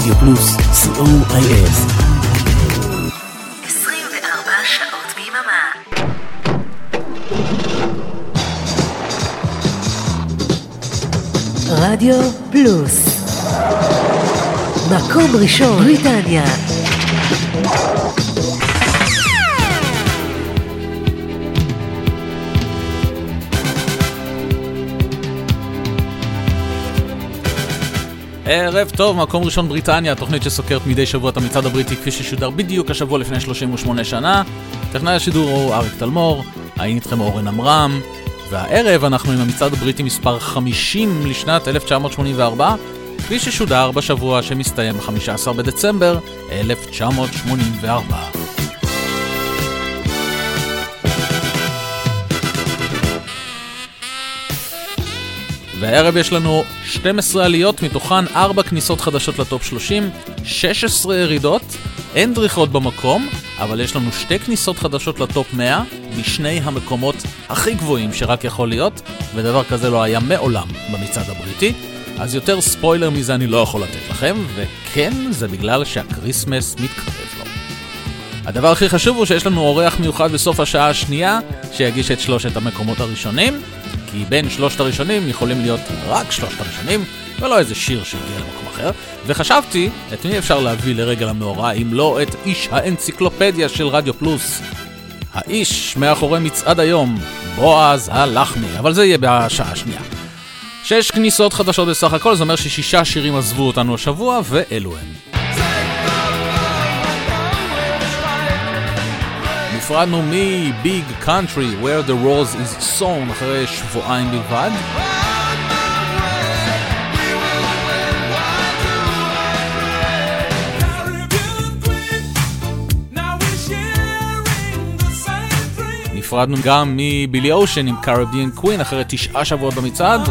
רדיו פלוס, COIS. 24 שעות ביממה. רדיו פלוס, מקום ראשון בריטניה. ערב טוב, מקום ראשון בריטניה, התוכנית שסוקרת מדי שבוע את המצעד הבריטי כפי ששודר בדיוק השבוע לפני 38 שנה. טכנאי השידור הוא אריק תלמור, היינו איתכם אורן אמרם, והערב אנחנו עם המצעד הבריטי מספר 50 לשנת 1984, כפי ששודר בשבוע שמסתיים ב-15 בדצמבר 1984. והערב יש לנו 12 עליות, מתוכן 4 כניסות חדשות לטופ 30, 16 ירידות, אין דריכות במקום, אבל יש לנו 2 כניסות חדשות לטופ 100, משני המקומות הכי גבוהים שרק יכול להיות, ודבר כזה לא היה מעולם במצעד הבריטי, אז יותר ספוילר מזה אני לא יכול לתת לכם, וכן, זה בגלל שהקריסמס מתקרב לו. הדבר הכי חשוב הוא שיש לנו אורח מיוחד בסוף השעה השנייה, שיגיש את 3 המקומות הראשונים, כי בין 3 הראשונים יכולים להיות רק 3 הראשונים, ולא איזה שיר שהגיע למקום אחר. וחשבתי, את מי אפשר להביא לרגל המאורע, אם לא את איש האנציקלופדיה של רדיו פלוס. האיש מאחורי מצעד היום, בועז הלחמי, אבל זה יהיה בשעה השנייה. 6 כניסות חדשות בסך הכל, זה אומר ש6 שירים עזבו אותנו השבוע, ואלו הם. נפרדנו מ-Big Country, Where the Rose is Sown, אחרי שבועיים בלבד. נפרדנו גם מבילי אושן עם Caribbean Queen, אחרי 9 שבועות במצעד.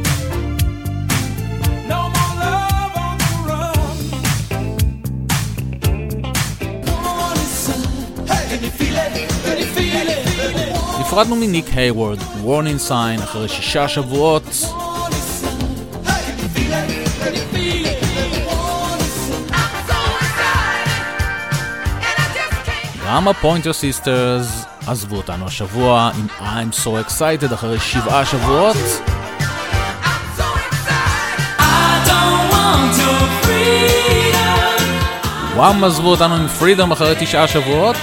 נפרדנו מניק הייוורד, Warning Sign, אחרי 6 שבועות. גם הפוינטר סיסטרס עזבו אותנו השבוע עם I'm So Excited, אחרי 7 שבועות. וואם עזבו אותנו עם Freedom, אחרי 9 שבועות.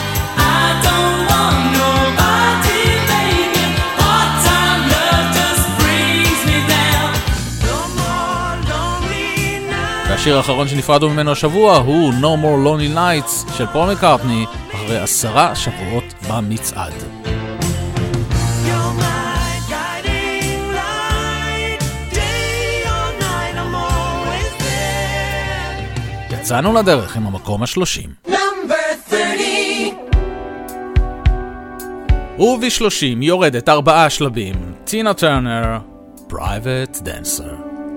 והשיר האחרון שנפרדו ממנו השבוע הוא No More Lonely Nights של פול מקארטני, אחרי 10 שבועות במצעד. יצאנו לדרך עם המקום ה-30. וב-30 יורדת 4 שלבים, טינה טרנר, Private Dancer.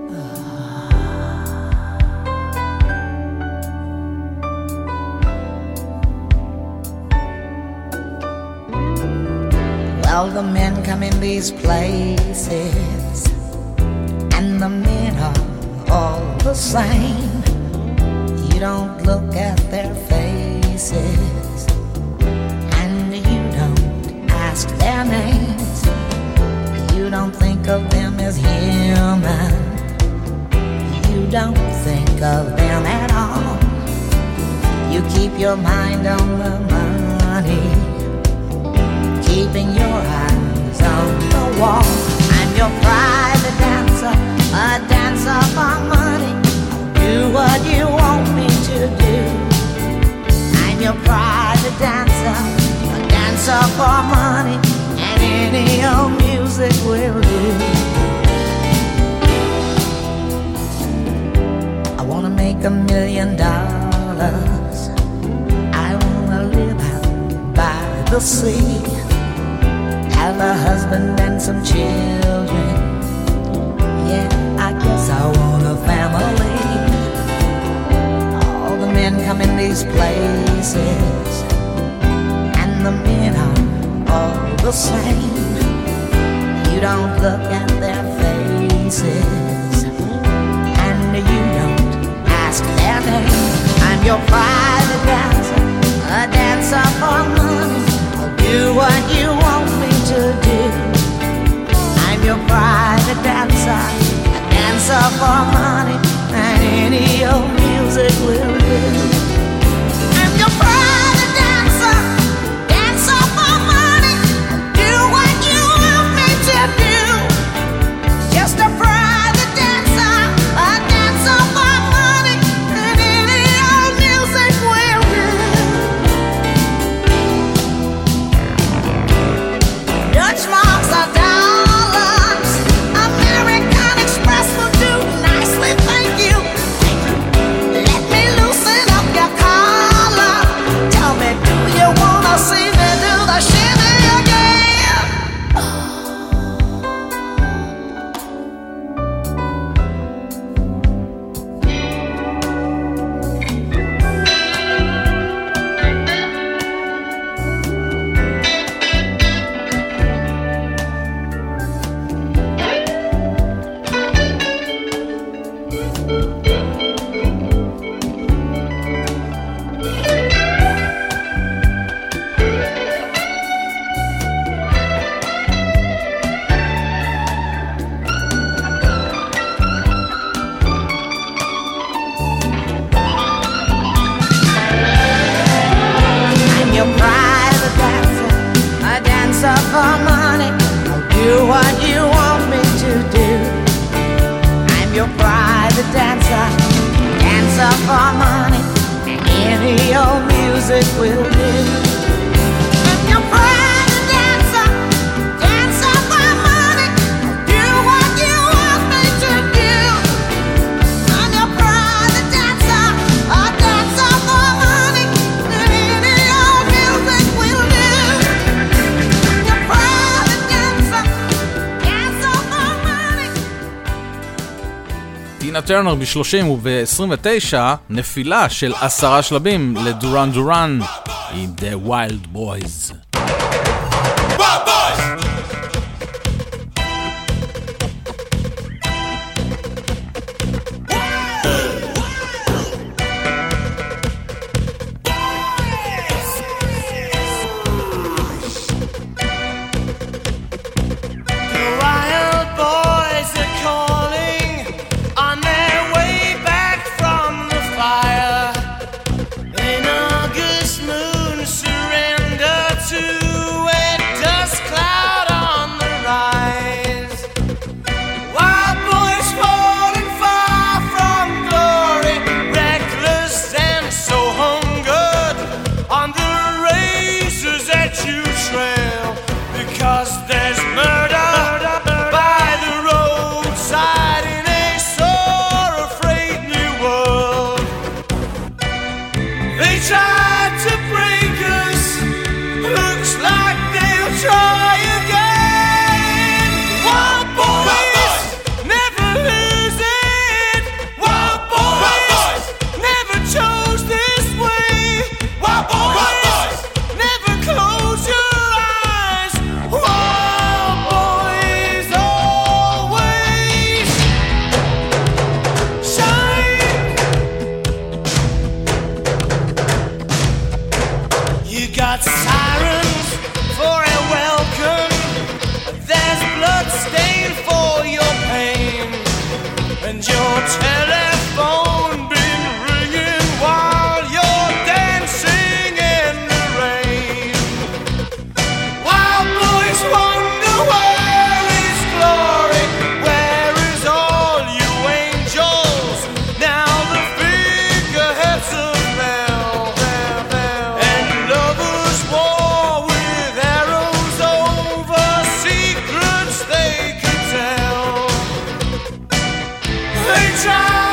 Well, the men come in these places, and the men are all the same. You don't look at their faces, and you don't ask their names. You don't think of them as human. You don't think of them at all. You keep your mind on the money, keeping your eyes on the wall. I'm your private dancer, a dancer for money. Do what you want me to do. I'm your private dancer, a dancer for money, and any old music will do. I wanna make $1 million. I wanna live out by the sea, have a husband and some children. Yeah, I guess I want a family. All the men come in these places, and the men are all the same. You don't look at their faces, and you don't ask their name. I'm your private dancer, a dancer for money. I'll do what you want me to do. I'm your private dancer, a dancer for money, and any old music will do. I'm your private dancer, dancer for money. Do what you want me to do. Just a private dancer, a dancer for money, and any old music will do. Dutch marks are dollars, American Express will do nicely, thank you. Let me loosen up your collar. Tell me, do you wanna see me do the shimmy again? I'm your private dancer, a dancer for money. I'll do what you want me to do. I'm your private dancer, dancer for money, and any old music will do. I'm your private dancer, dancer for money. I'll do what you want me to do. I'm your private dancer, a dancer for money, and any old music will do. I'm your private dancer, dancer for money. טינה טרנר ב-30 וב-29 נפילה של 10 שלבים לדורן דורן עם The Wild Boys. The wild boys are calling on their way back from the fire. An August moon surrender to a dust cloud on the rise. Wild boys falling far from glory, reckless and so hungered on the razors that you trail, because there's murder by the roadside in a sore afraid new world. They tried to break us, looks like they'll try again. Wild boys never lose it. Wild boys never chose this way. Wild boys never close your eyes. Wild boys always shine. You got sirens for a welcome. There's blood stain for your pain, and your telephone been ringing while you're dancing in the rain. Wild boys wonder where is glory, where is all you angels? Now the figureheads have fell, and lovers war with arrows over secrets they could tell. They try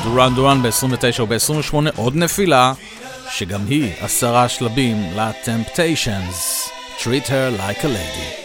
דורן דורן ב-29 וב-28 עוד נפילה, שגם היא 10 שלבים ל-Temptations, Treat Her Like a Lady.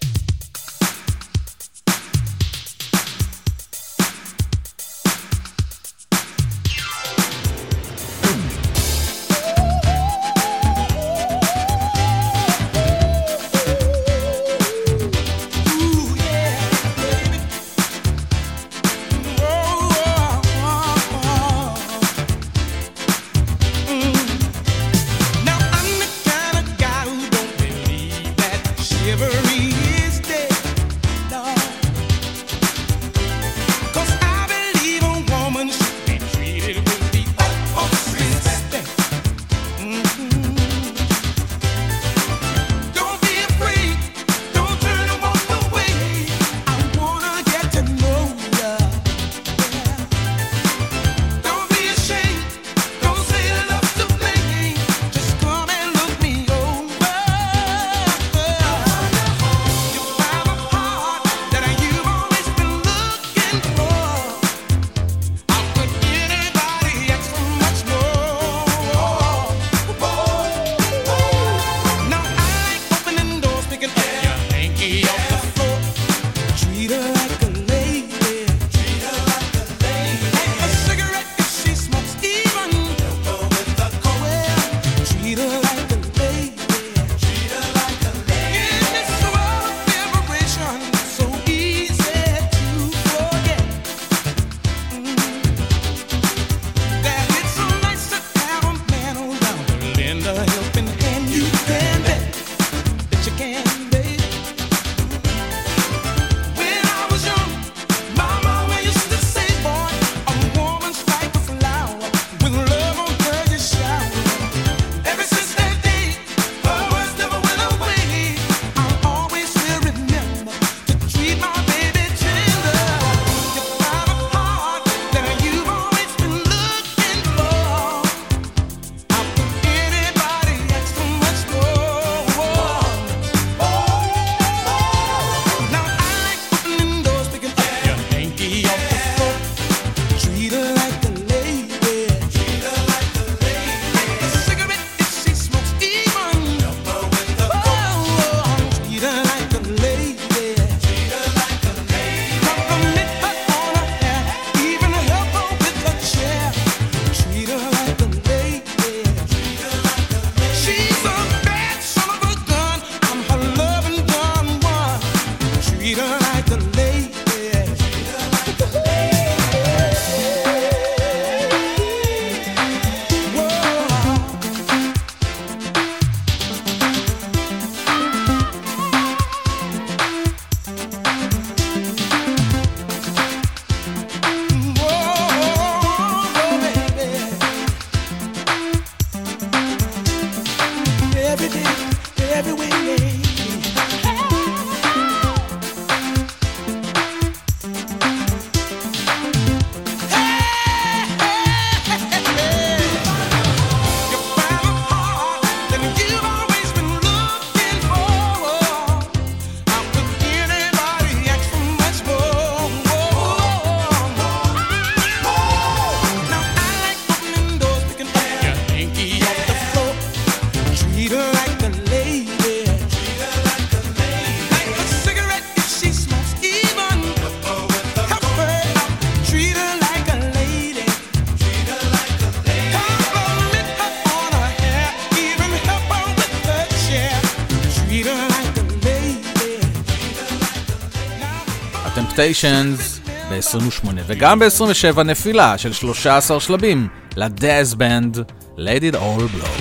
Temptations ב-28 וגם ב-27 נפילה של 13 שלבים לדאז בנד Let It All Blow.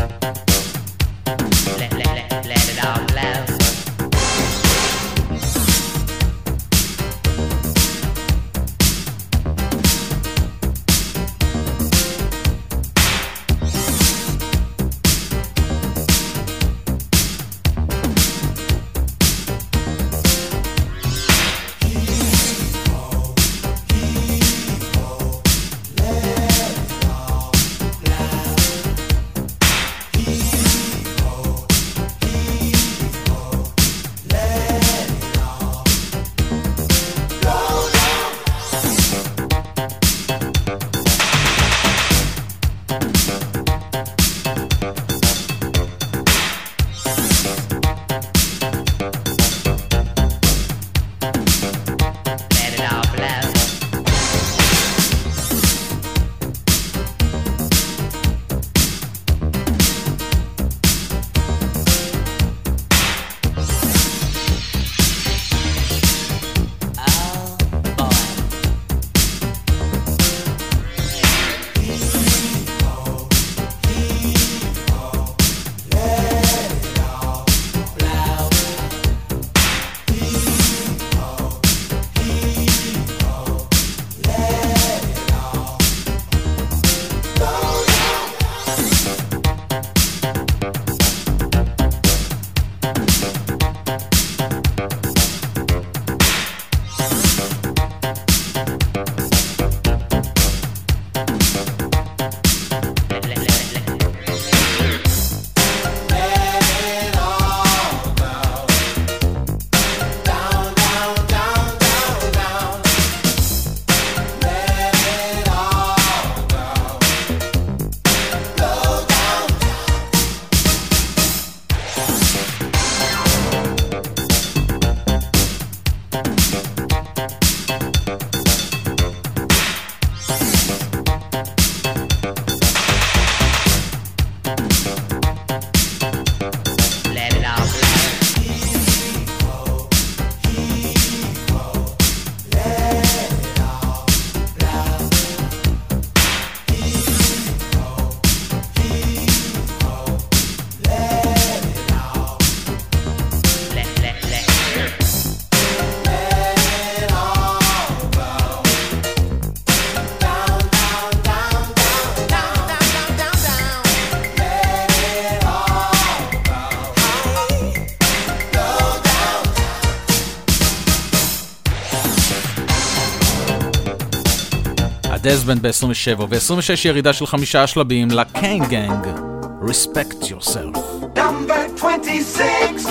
Let it all blow. הדזבנד ב-27, ב-26 ירידה של 5 שלבים לקיין גנג, Respect Yourself. Number 26.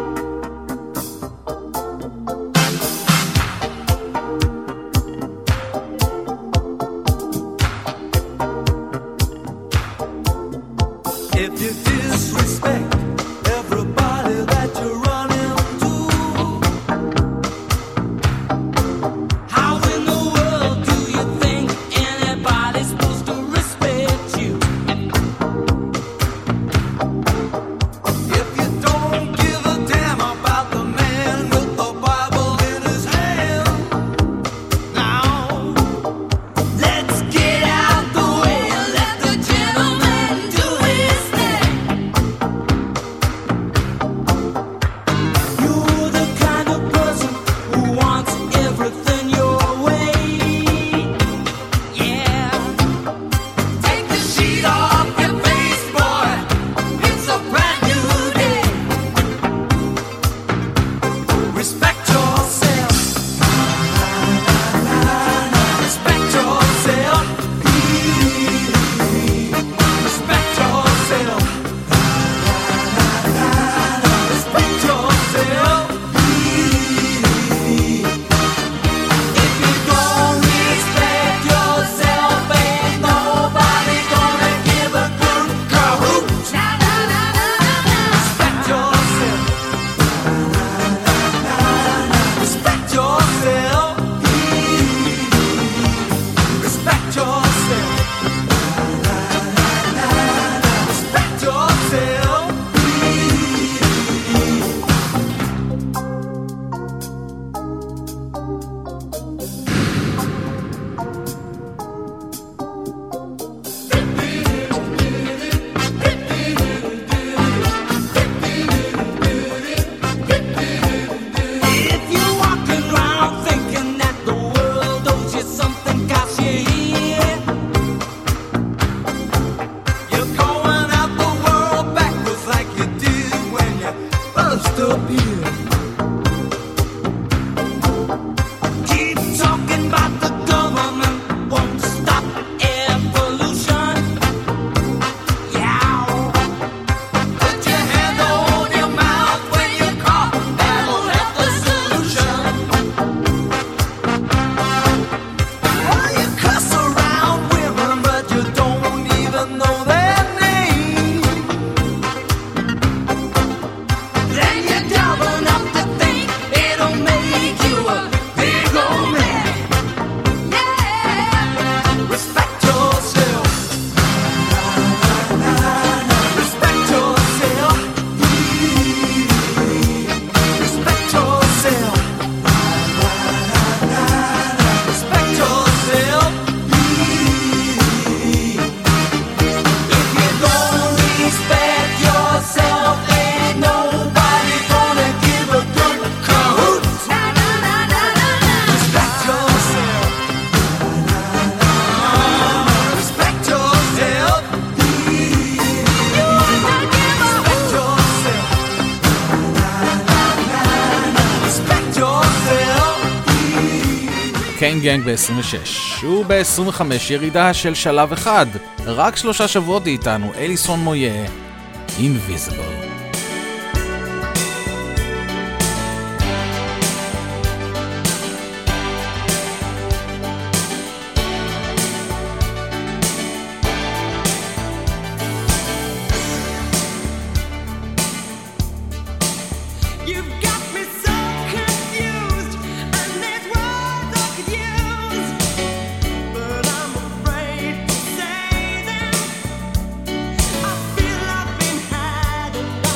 If you disrespect everybody that you run into, how in the world do you think anybody's supposed to respect you? If you don't give a damn about the man with the Bible in his hand, now let's get out the way and let the gentleman do his thing. You're the kind of person who wants everything your way. Yeah. Take the sheet off your face, boy. It's a brand new day. Respect yourself. Respect yourself. Respect yourself. Respect yourself. If you don't respect yourself, ain't nobody gonna give a good cahoot. Respect yourself. Respect yourself. Respect yourself. Respect yourself. If you're walking around thinking that the world owes you something 'cause you're here, you're going out the world backwards like you did when you first appeared. Keep talking about the government won't stop air pollution. Yeah. Put your hand on your mouth when you cough. That'll help the solution. Oh, you cuss around women, but you don't even know their name. Then you're dumb enough to think it'll make you a big old man. Yeah. Respect yourself. Respect yourself. Respect yourself. Respect yourself. If you don't respect yourself, ain't nobody gonna give a good cahoot. Respect yourself. Respect yourself. Respect yourself. Respect yourself. קיין גנג ב-26, וב-25 ירידה של שלב אחד, רק 3 שבועות איתנו, אליסון מויה, Invisible. You've got me so confused, and there's words I could use, but I'm afraid to say them. I feel I've been had enough.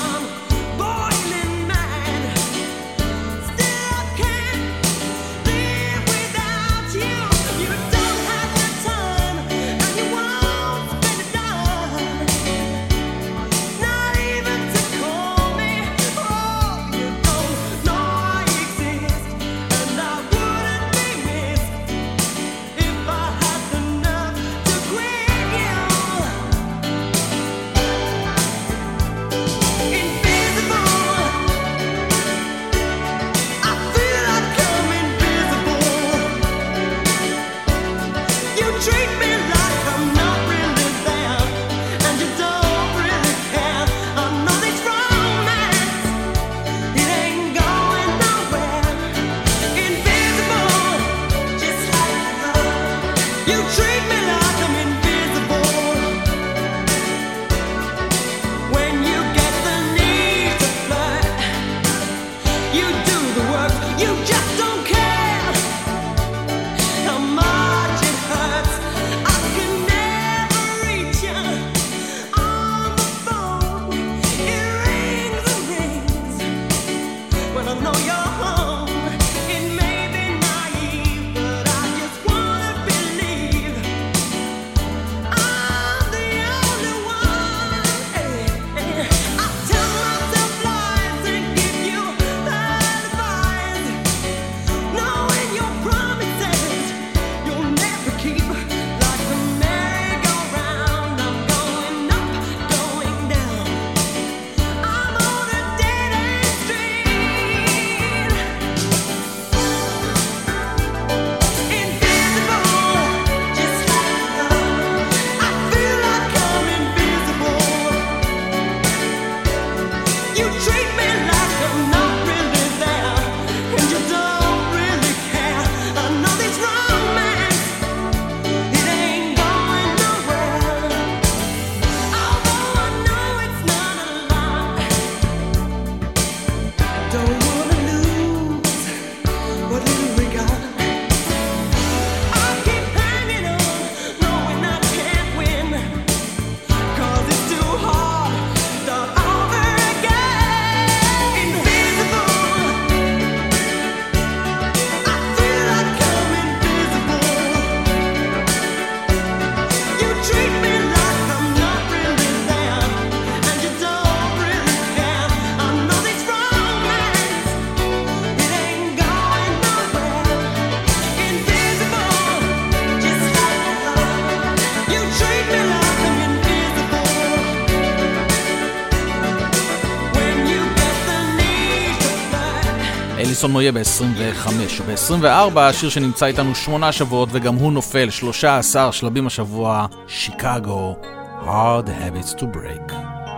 אליסון מויה ב-25. ב-24 השיר שנמצא איתנו 8 שבועות וגם הוא נופל 13 שלבים השבוע, שיקגו, Hard Habits to Break.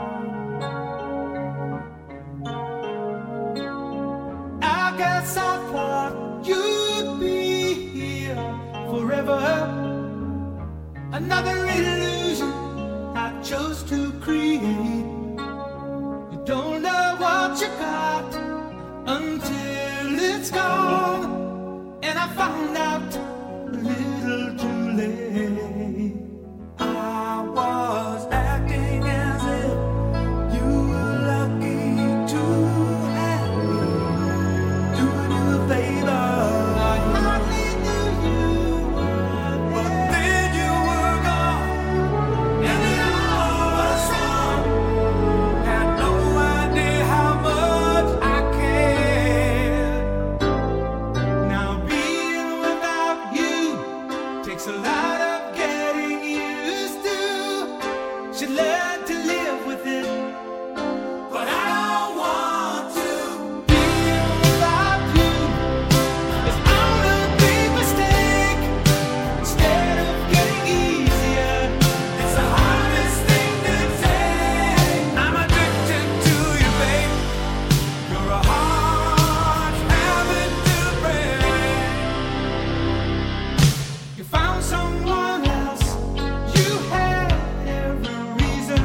I guess I thought you'd be here forever. Another illusion I chose to create. You don't know what you got until it's gone, and I found out a little too late. I was acting as if you were lucky to have me, doing you a favor. I hardly knew you, but then you were gone, and then all was wrong. Had no idea how much I cared. Now being without you takes a lot of getting used to. Should learn to live with it, but I don't want to. Being without you is all a big mistake. Instead of getting easier, it's the hardest thing to take. I'm addicted to you, babe. You're a hard habit to break. You found someone else. You had every reason.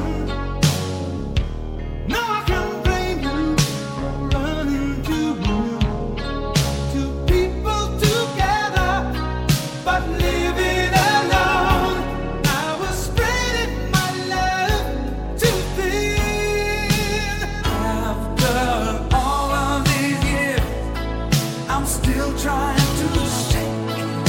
No, I can't blame you for running to you. Two people together, but living alone. I was spreading my love too thin. After all of these years, I'm still trying to shake.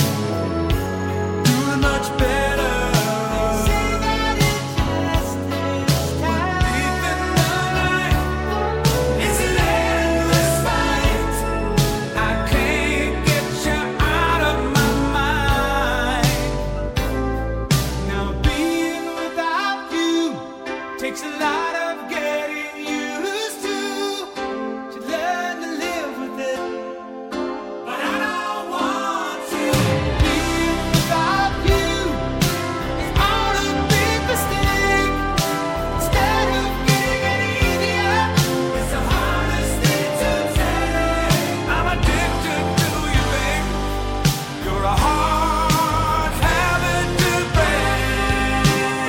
Doing much better. Say that it just takes time. Deep in the night, it's an endless fight. I can't get you out of my mind. Now being without you takes a lot of getting used to. Should learn to live with it, but I don't want to. Being without you is all a big mistake. Instead of getting it easier, it's the hardest thing to take. I'm addicted to you, babe. You're a hard habit to break.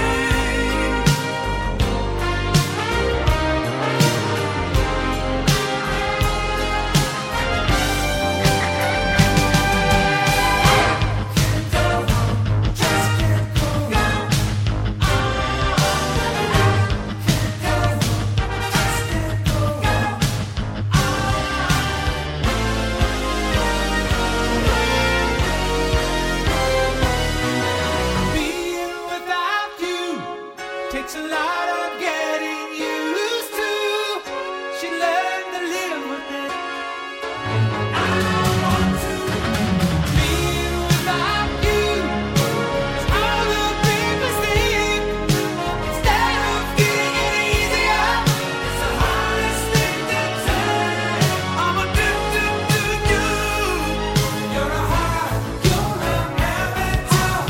Being without you takes a lot of getting used to. She learned to live with it. I don't want to. Being without you is all a big mistake. Instead of getting it easier, it's the hardest thing to take. I'm addicted to you. You're a habit to break.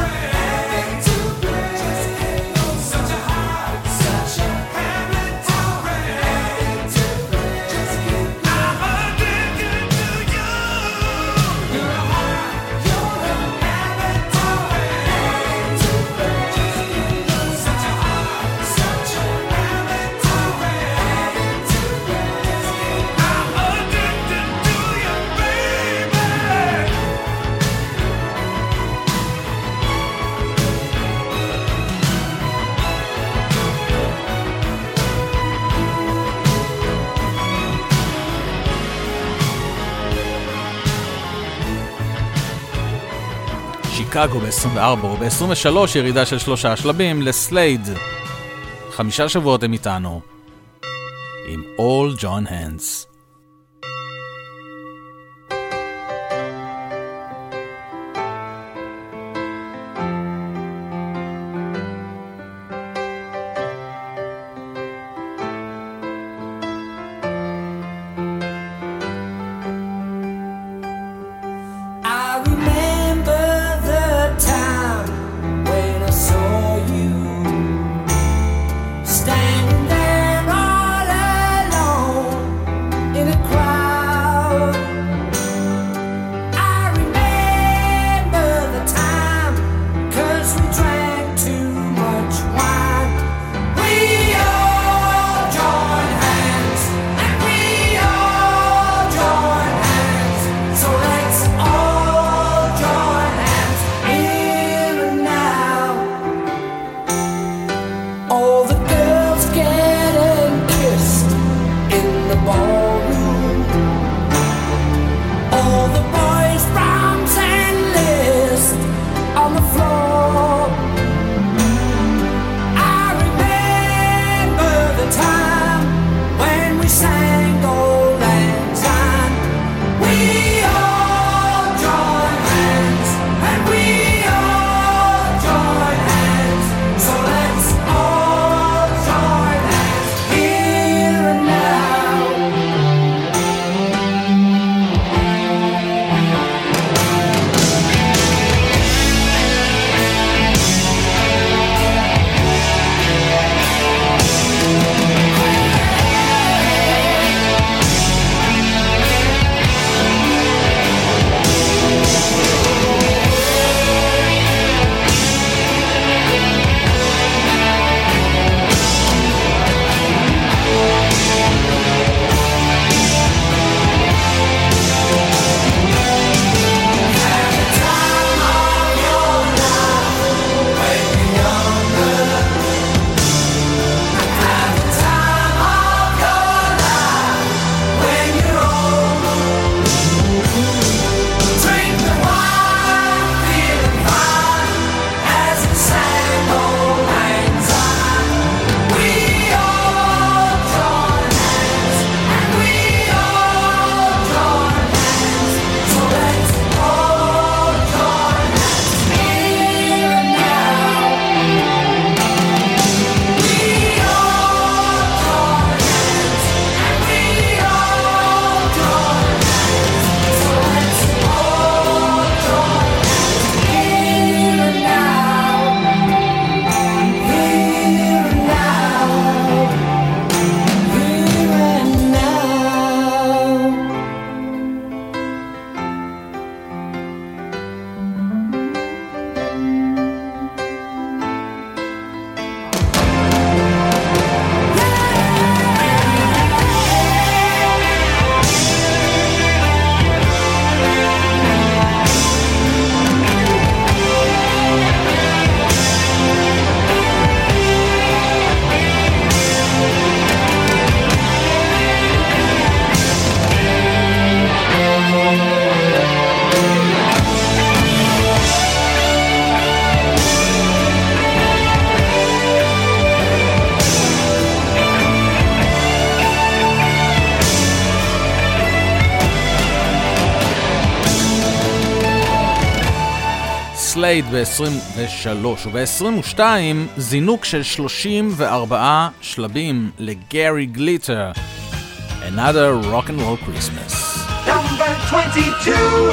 Such a habit to שיקגו ב-24, וב-23 ירידה של 3 שלבים לסלייד. 5 שבועות הם איתנו עם All John Hands. סלייד ב-23 וב-22 זינוק של 34 שלבים לגרי גליטר, Another Rock and Roll Christmas. Number 22.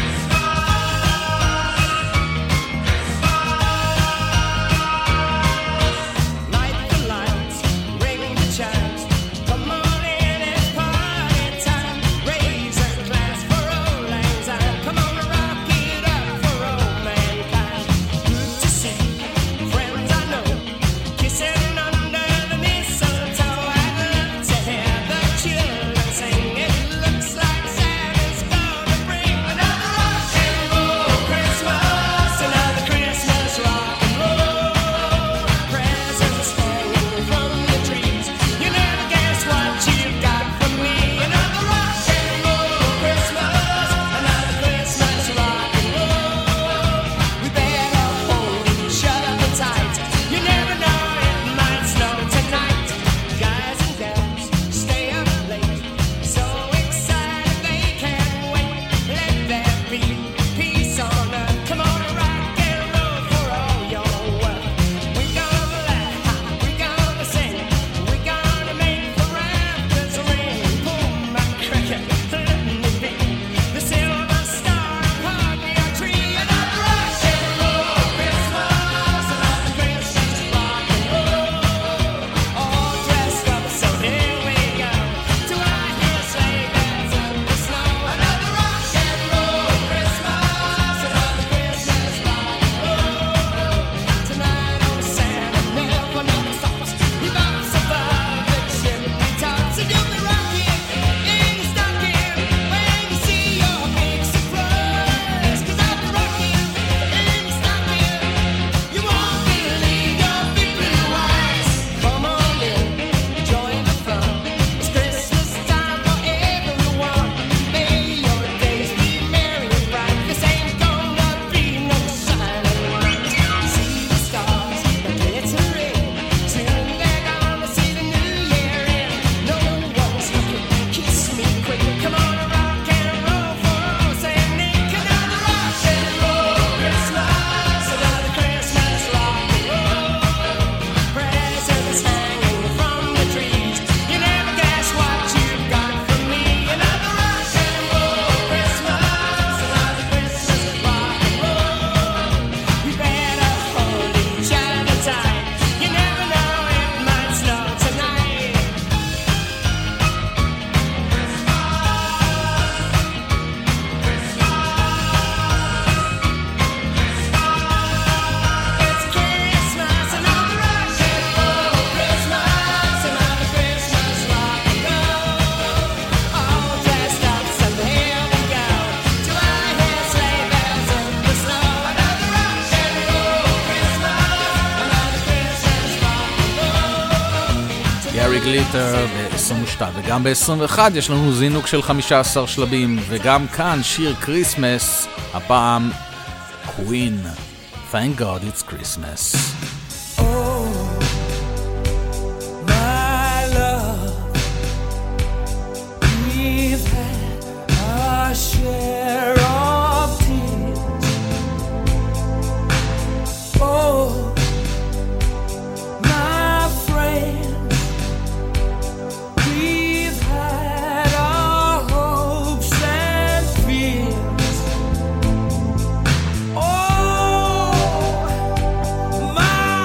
גליטר ב-22 וגם ב-21 יש לנו זינוק של 15 שלבים, וגם כאן שיר קריסמס, הפעם קווין, Thank God It's Christmas. My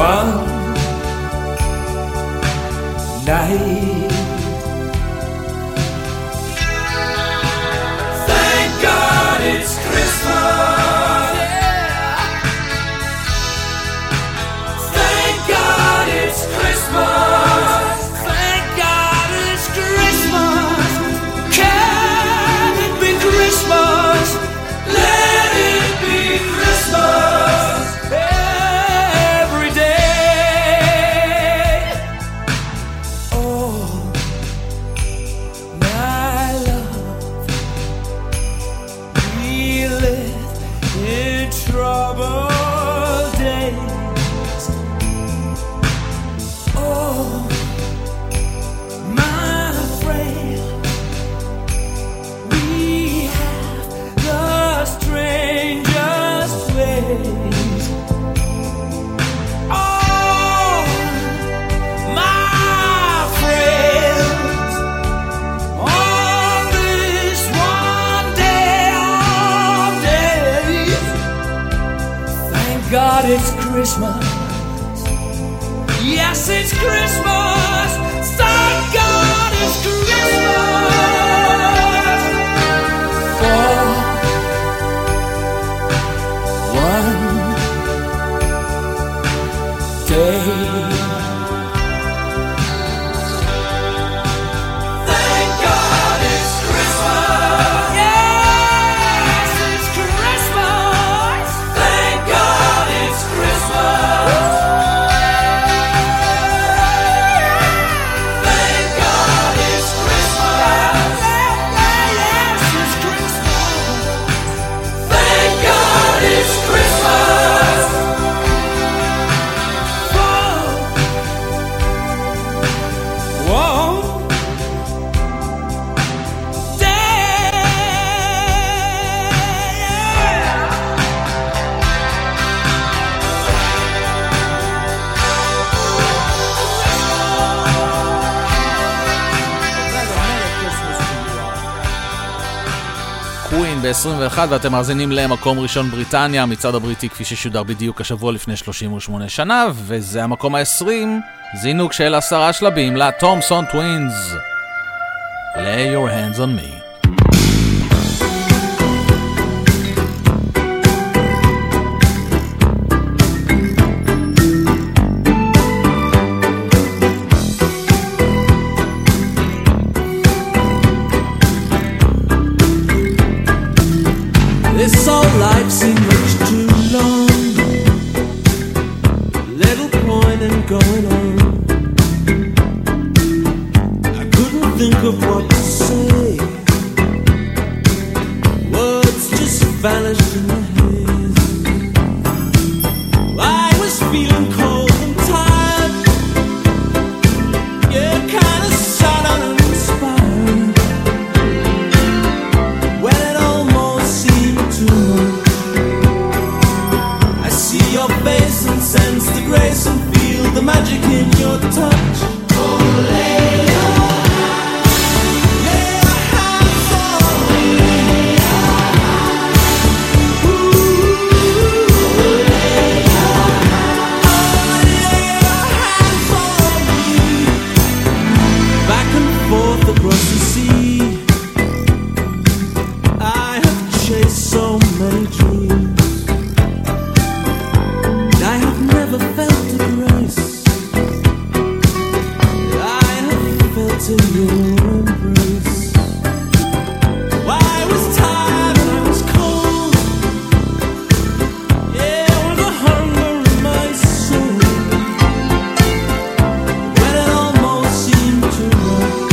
one night. Thank God it's Christmas. Yeah. Thank God it's Christmas. Thank God it's Christmas. Can it be Christmas? Let it be Christmas every day. Oh, my love, we live in troubled days. Oh, my friend, we have the strangest ways. Oh, my friends, on this one day of days, thank God it's Christmas. Yes, it's Christmas. Thank God it's Christmas. For one day. Thank God it's Christmas. Yes, it's Christmas. Thank God it's Christmas. Thank God it's Christmas. Yes, it's Christmas. Thank God it's Christmas. Whoa. קווין ב-21 ואתם מאזינים למקום ראשון בריטניה, מצעד הבריטי כפי ששודר בדיוק השבוע לפני 38 שנה, וזה המקום ה-20, זינוק של 10 שלבים לתומסון טווינס. Lay your hands on me. This whole life seemed much too long. Little point in going on. I couldn't think of what to say. Words just vanished in the haze. I was feeling cold and tired. Yeah, kinda sad and uninspired. When it almost seemed too much, I see your face and sense the grace and feel the magic in your touch. Oh, lay your hands on me. Ooh, lay your hands on me. Back and forth across the sea, I have chased so many dreams. I have never felt the grace I have felt in your embrace. I was tired and I was cold. Yeah, with the hunger in my soul. When it almost seemed too much,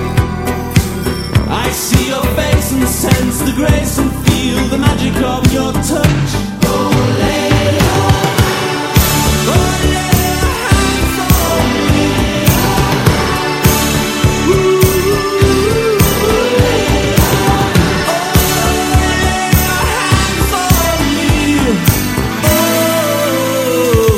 I see your face and sense the grace and feel the magic of your touch. Oh, lay your hands on me. Ooh, lay your hands on me. Oh.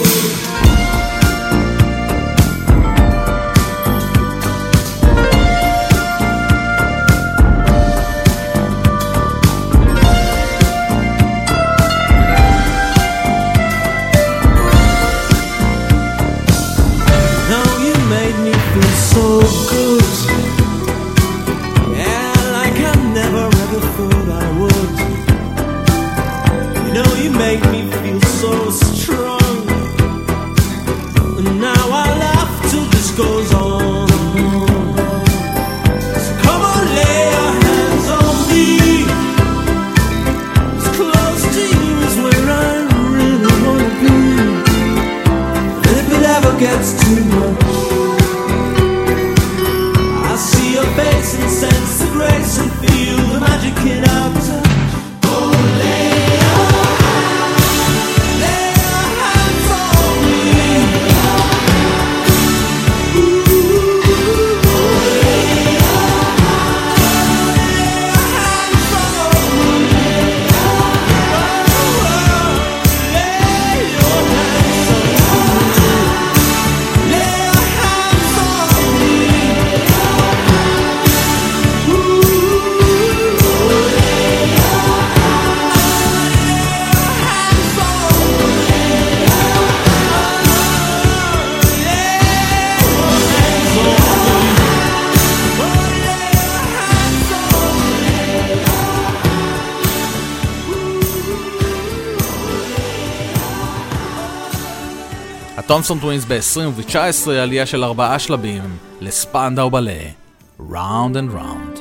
טומסון טווינס ב-2019, עלייה של 4 שלבים לספנדאו בלה, Round and Round.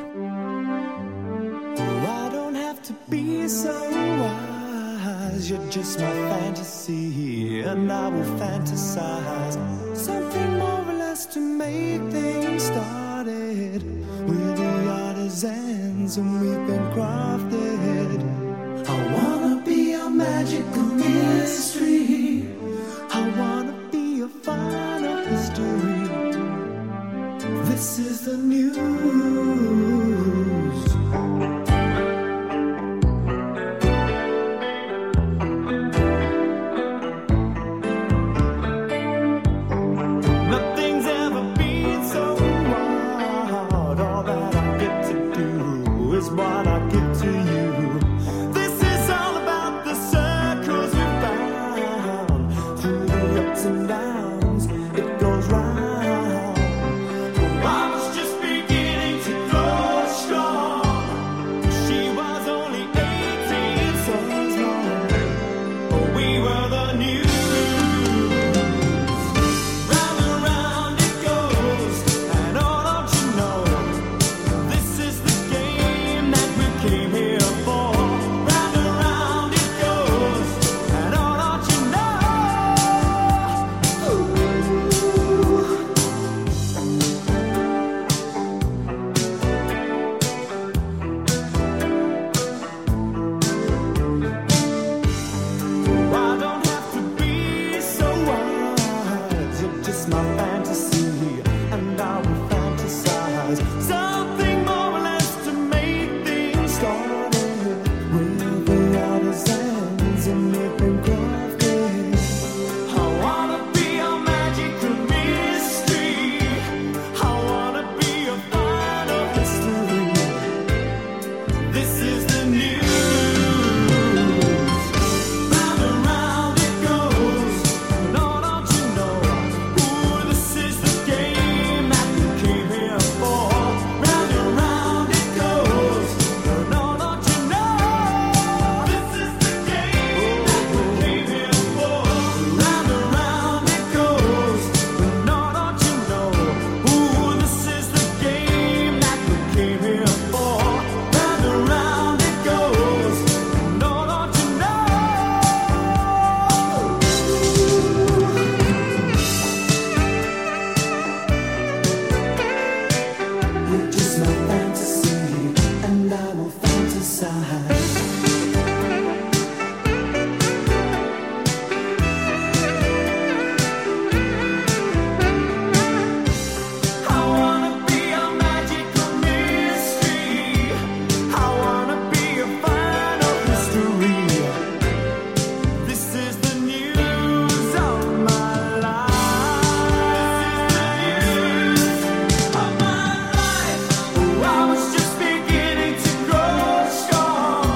I don't have to be so wise, you're just my fantasy, and I will fantasize something more or less to make things started. We're the artisans and we've been crafted. I wanna be a magical mystery, I wanna be a final history. This is the news. Nothing's ever been so wild. All that I get to do is what I give to you. This is all about the circles we found. Through the ups and downs, it goes round. I was just beginning to grow strong. She was only 18, so long. We were the news. Round and round it goes, and oh, don't you know, this is the game that we came here for. Round and round it goes, and oh, don't you know. I don't have to be so wise. You're just my fantasy, and I will fantasize something more or less to make things started. We're the artisans and we've been crafted. I wanna be a magical mystery, I wanna be a final history. This is the news. Round and round it goes, and oh, don't you know, ooh, this is the game that we came here for. Round and round it goes, and oh, don't you know, this is the game that we came here for. Round and round it goes, and oh, don't you know, ooh, this is the game that we came here for. Round and round it goes, and oh, don't you know. You're just my fantasy, and I will fantasize. I wanna be a magical mystery, I wanna be a final history. This is the news of my life. Of my life. Oh, I was just beginning to grow strong.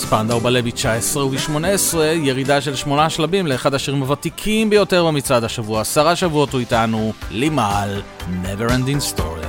פנדאו בלה ב-19 וב-18, ירידה של 8 שלבים לאחד השירים הוותיקים ביותר במצעד השבוע. 10 שבועות הוא איתנו, לימל, Never Ending Story.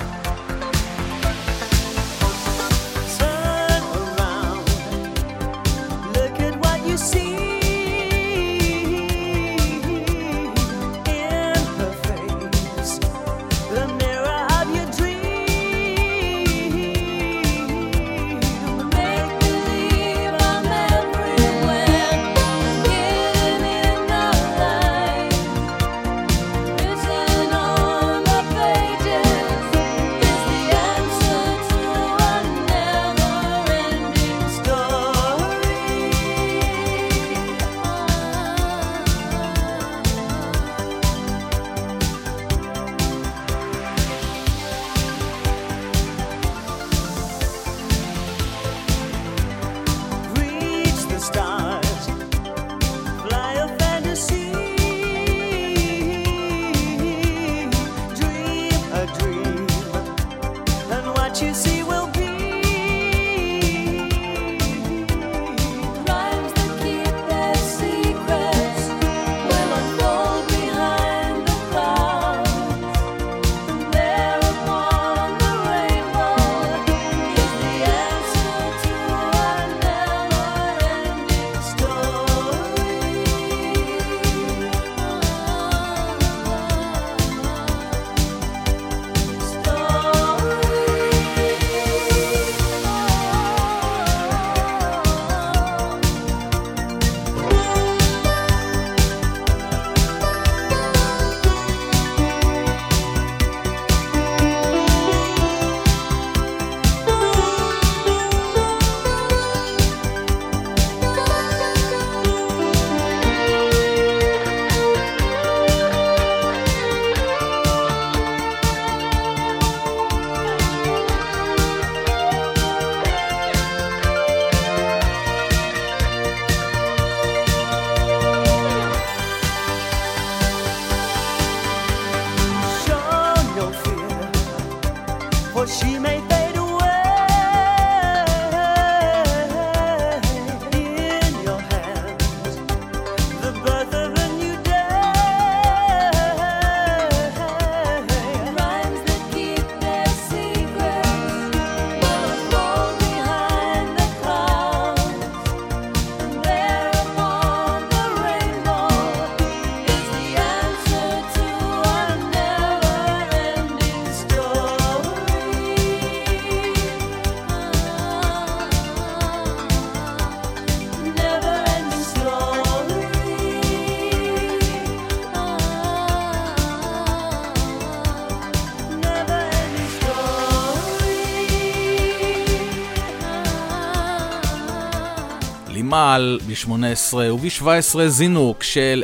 מעל ב-18 וב-17 זינוק של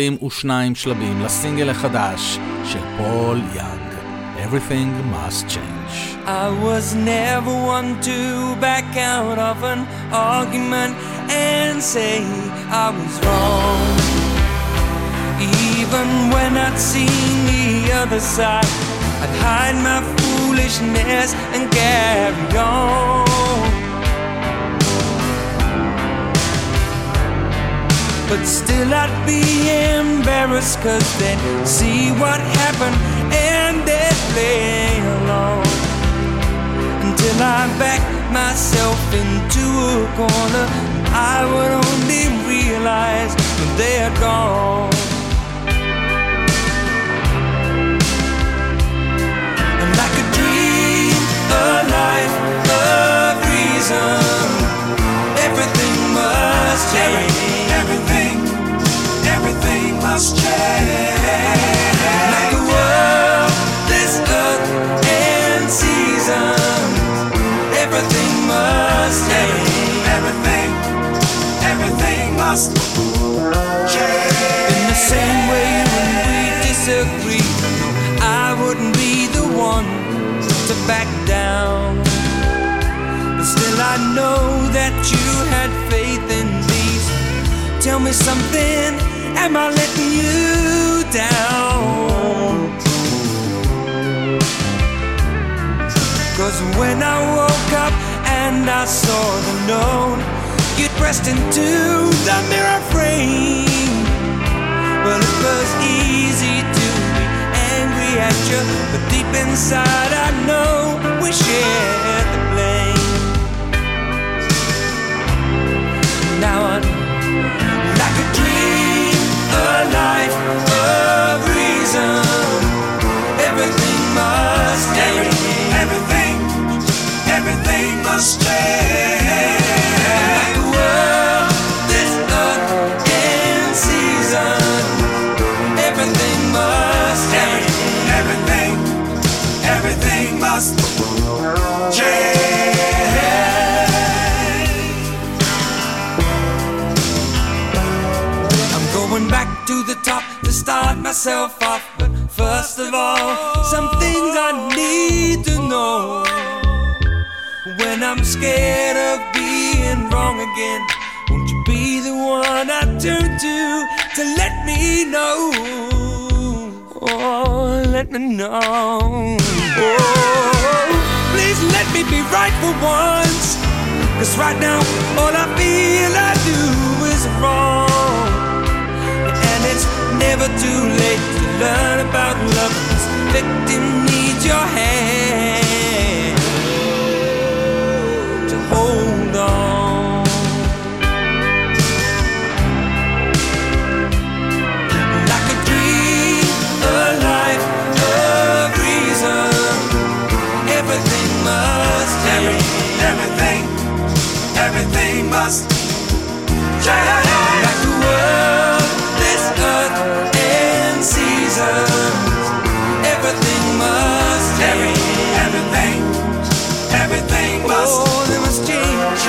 22 שלבים לסינגל החדש של פול יאנג, Everything Must Change. I was never one to back out of an argument and say I was wrong. Even when I'd seen the other side, I'd hide my foolishness and carry on. But still I'd be embarrassed, 'cause they'd see what happened and they'd play along. Until I backed myself into a corner, I would only realize when they had gone. And like a dream, a life, a reason, everything must change. Everything must change. Like the world, this earth and season, everything must change. Everything must change. In the same way when we disagree, I wouldn't be the one to back down. But still I know that you had faith in me. Tell me something, am I letting you down? 'Cause when I woke up and I saw the note, You'd pressed into the mirror frame. Well, it was easy to be angry at you, but deep inside I know we shared the blame. Now I'm like a dream, a life of reason. Everything must change. Everything must change. Like the world, this earth and season. Everything must change. Everything must change. I'm going back to the top to start myself off. But first of all, some things I need to know. When I'm scared of being wrong again, won't you be the one I turn to let me know? Oh, let me know. Oh, please let me be right for once. 'Cause right now, all I feel I do is wrong. And it's never too late to learn about love. This victim needs your hand to hold on. Like a dream, a life of reason. Everything must change. Everything must change. Like the world, this earth and seasons. Everything must change. Everything must. Oh, they must change.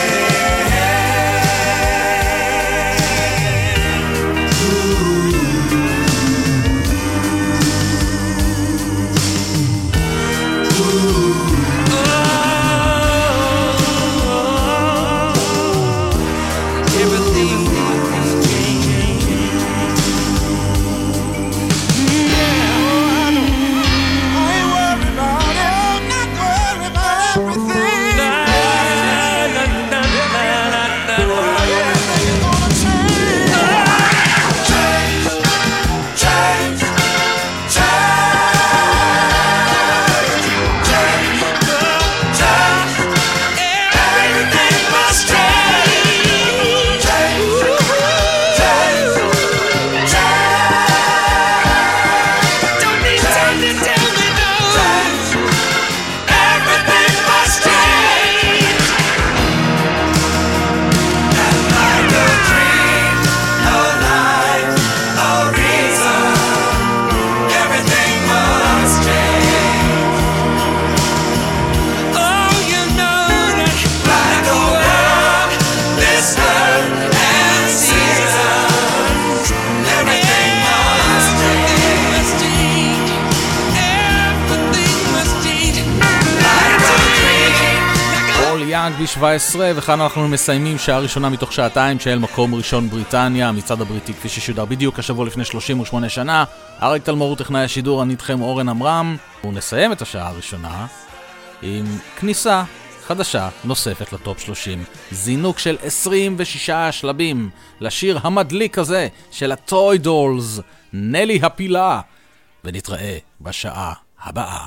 ב-17, וכאן אנחנו מסיימים שעה ראשונה מתוך שעתיים של מקום ראשון בריטניה, המצעד הבריטי כפי ששודר בדיוק השבוע לפני 38 שנה. אריק תלמור טכנאי השידור, אני איתכם אורן עמרם, ונסיים את השעה הראשונה עם כניסה חדשה נוספת לטופ 30, זינוק של 26 שלבים לשיר המדליק הזה של הטוי דולס, נלי הפילה, ונתראה בשעה הבאה.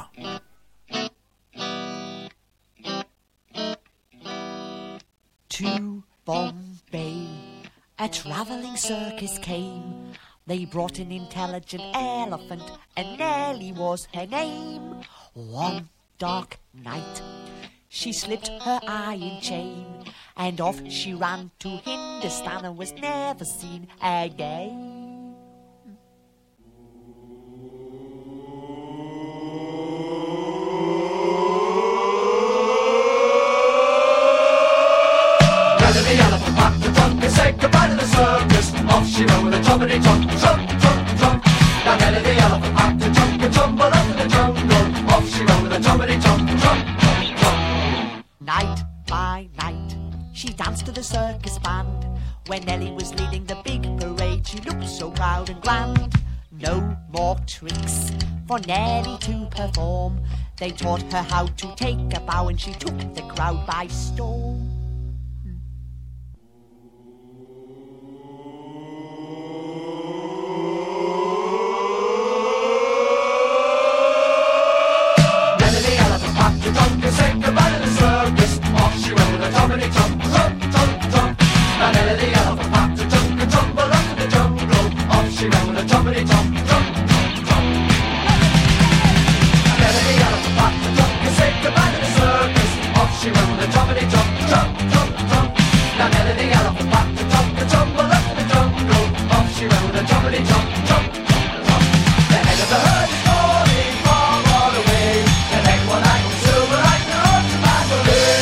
To Bombay, a travelling circus came. They brought an intelligent elephant, and Nellie was her name. One dark night, she slipped her iron chain, and off she ran to Hindustan and was never seen again. The elephant packed the trunk and said goodbye to the circus. Off she ran with a trumpety trunk, trunk, trunk, trunk. Now Nelly the elephant packed the trunk and tumbled up in the jungle. Off she ran with a trumpety trunk, trunk, trunk, trunk. Night by night, she danced to the circus band. When Nelly was leading the big parade, she looked so proud and grand. No more tricks for Nelly to perform. They taught her how to take a bow, and she took the crowd by storm. Now Nelly the elephant packed the trunk and said goodbye to the circus. Off she ran with a trumpety trunk, trunk, trunk, trunk. Now Nelly the elephant packed the trunk and tumbled up in the jungle. Off she ran with a trumpety trunk, trunk, trunk, trunk. Night by night, she danced to the circus band. When Nelly was leading the big parade, she looked so proud and grand. No more tricks for Nelly to perform. They taught her how to take a bow, and she took the crowd by storm. circus. Off she went with a jumpity jump, jump, jump, jump. Now Nellie the elephant packed a jump and tumble up in the jungle. Off she went with a jumpity jump, jump, jump, jump. Now Nellie the elephant packed a jump and said goodbye to the circus. Off she went with a jumpity jump, jump, jump, jump. Now Nellie the elephant packed a jump and tumble up in the jungle. Off she went with a jumpity jump, jump, jump, jump. The head of the herd is falling far, far away. The neck one like silver like the road to Mandalay.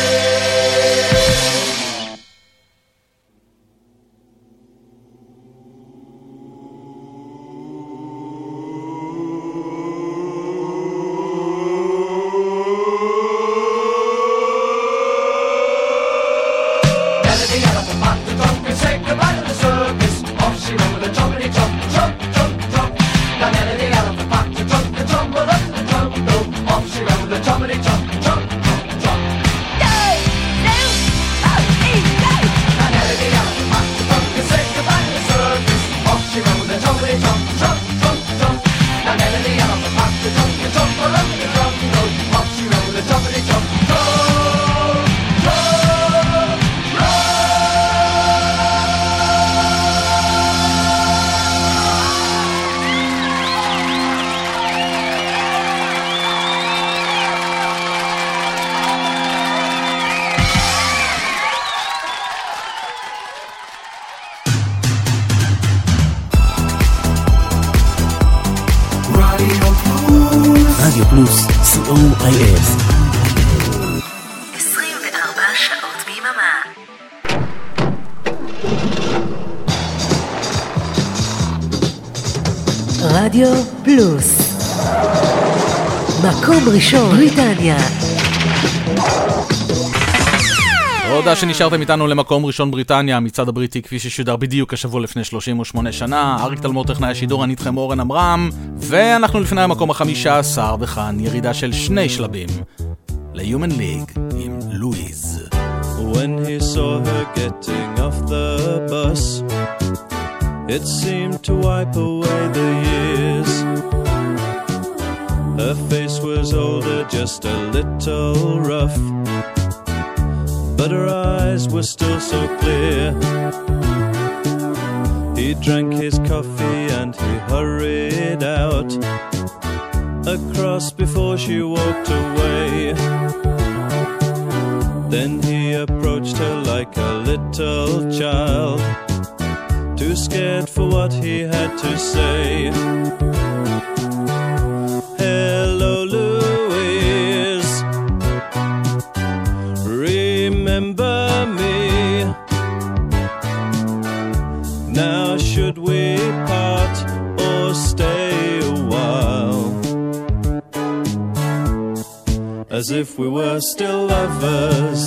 Nellie the elephant packed a jump and said goodbye to the circus. Off she went with a jumpity jump, jump, jump, jump. Now Nellie the elephant packed a jump and tumbled up to the jungle. Off she went with a jumpity jump, jump, jump, jump. Now Nellie the elephant packed a jump and said goodbye to the circus. Off she went with a jumpity jump, jump, jump, jump. Now Nellie the elephant packed a jump and tumbled up to the jungle. Off she went with a jumpity jump, jump, jump, jump. רדיו פלוס, COIF. 24 שעות ביממה. רדיו פלוס. מקום ראשון, בריטניה. תודה שנשארתם איתנו למקום ראשון בריטניה, המצעד הבריטי כפי ששודר בדיוק השבוע לפני 38 שנה. אריק תלמור טכנאי השידור, אני איתכם אורן אמרם, ואנחנו לפני המקום ה-15, וכאן ירידה של 2 שלבים ל-Human League עם לואיז. When he saw her getting off the bus, it seemed to wipe away the years. Her face was older, just a little rough, but her eyes were still so clear. He drank his coffee and he hurried out across before she walked away. Then he approached her like a little child, too scared for what he had to say. Hello, Louise, remember me? Now should we part or stay a while, as if we were still lovers?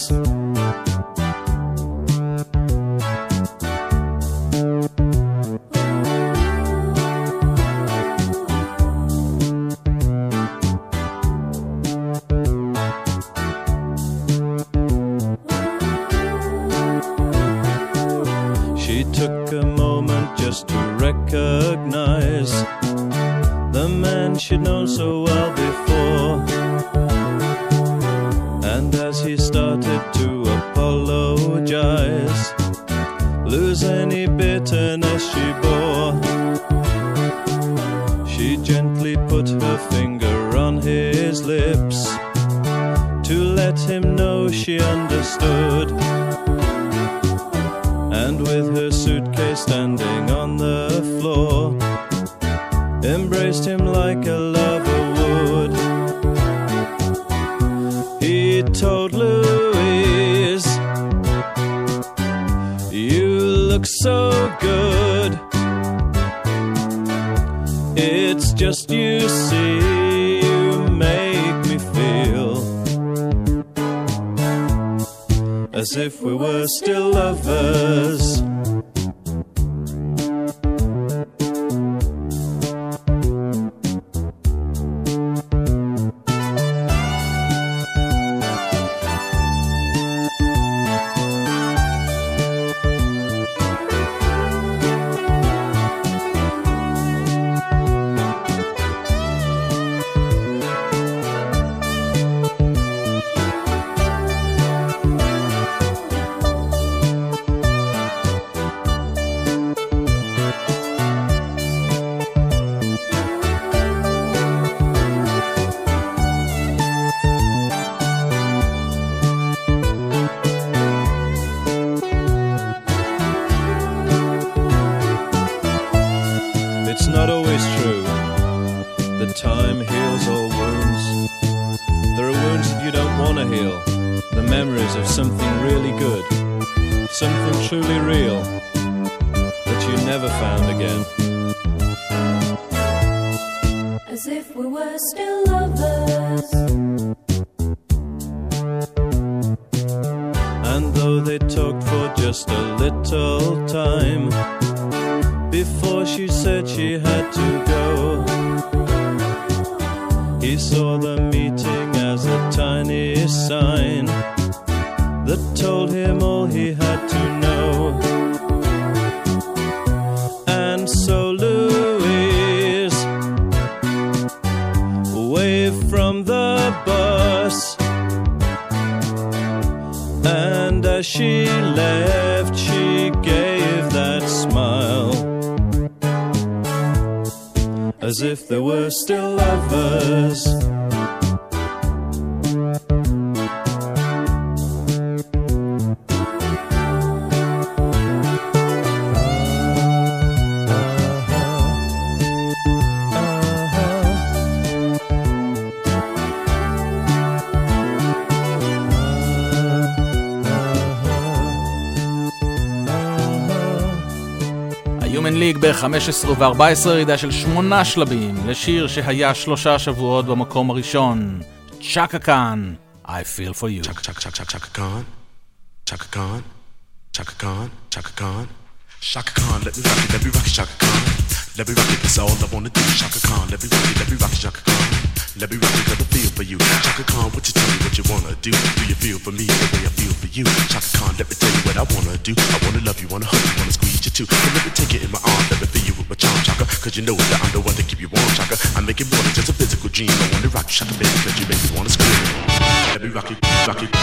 She took a moment just to recognize the man she'd known so well before. And as he started to apologize, lose any bitterness she bore, she gently put her finger on his lips to let him know she understood. And with her suitcase standing on the floor, embraced him like a lover would. He told Louise, "You look so good. It's just you see, you make me feel as if we were still lovers." it's not always true that time heals all wounds. There are wounds that you don't want to heal, the memories of something really good, something truly real that you never found again. As if we were still lovers. And though they talked for just a little time before she said she had to go, he saw the meeting as a tiny sign that told him all he had to know. And so Louise waved from the bus, and as she left she gave that smile, as if they were still lovers. Human League ב-15 ו-14 ירידה של 8 שלבים לשיר שהיה 3 שבועות במקום הראשון, צ'קה קאן, I Feel For You. Chaka Khan, Chaka Khan, Chaka Khan, Chaka Khan, Chaka Khan, let me rock it, Chaka Khan. Let me rock it, that's all I wanna do, Chaka Khan. Let me rock it, Chaka Khan. Let me rock it, cause I feel for you, Chaka Khan. What you tell me what you wanna do? Do you feel for me the way I feel for you, Chaka Khan? Let me tell you what I wanna do. I wanna love you, wanna hug you, wanna squeeze you too. So let me take it in my arms, let me feel you with my charm, Chaka. Cause you know that I'm the one to keep you warm, Chaka. I make it more than just a physical dream. I wanna rock you, Chaka, baby, cause you make me wanna scream. Let me rock it, rock it.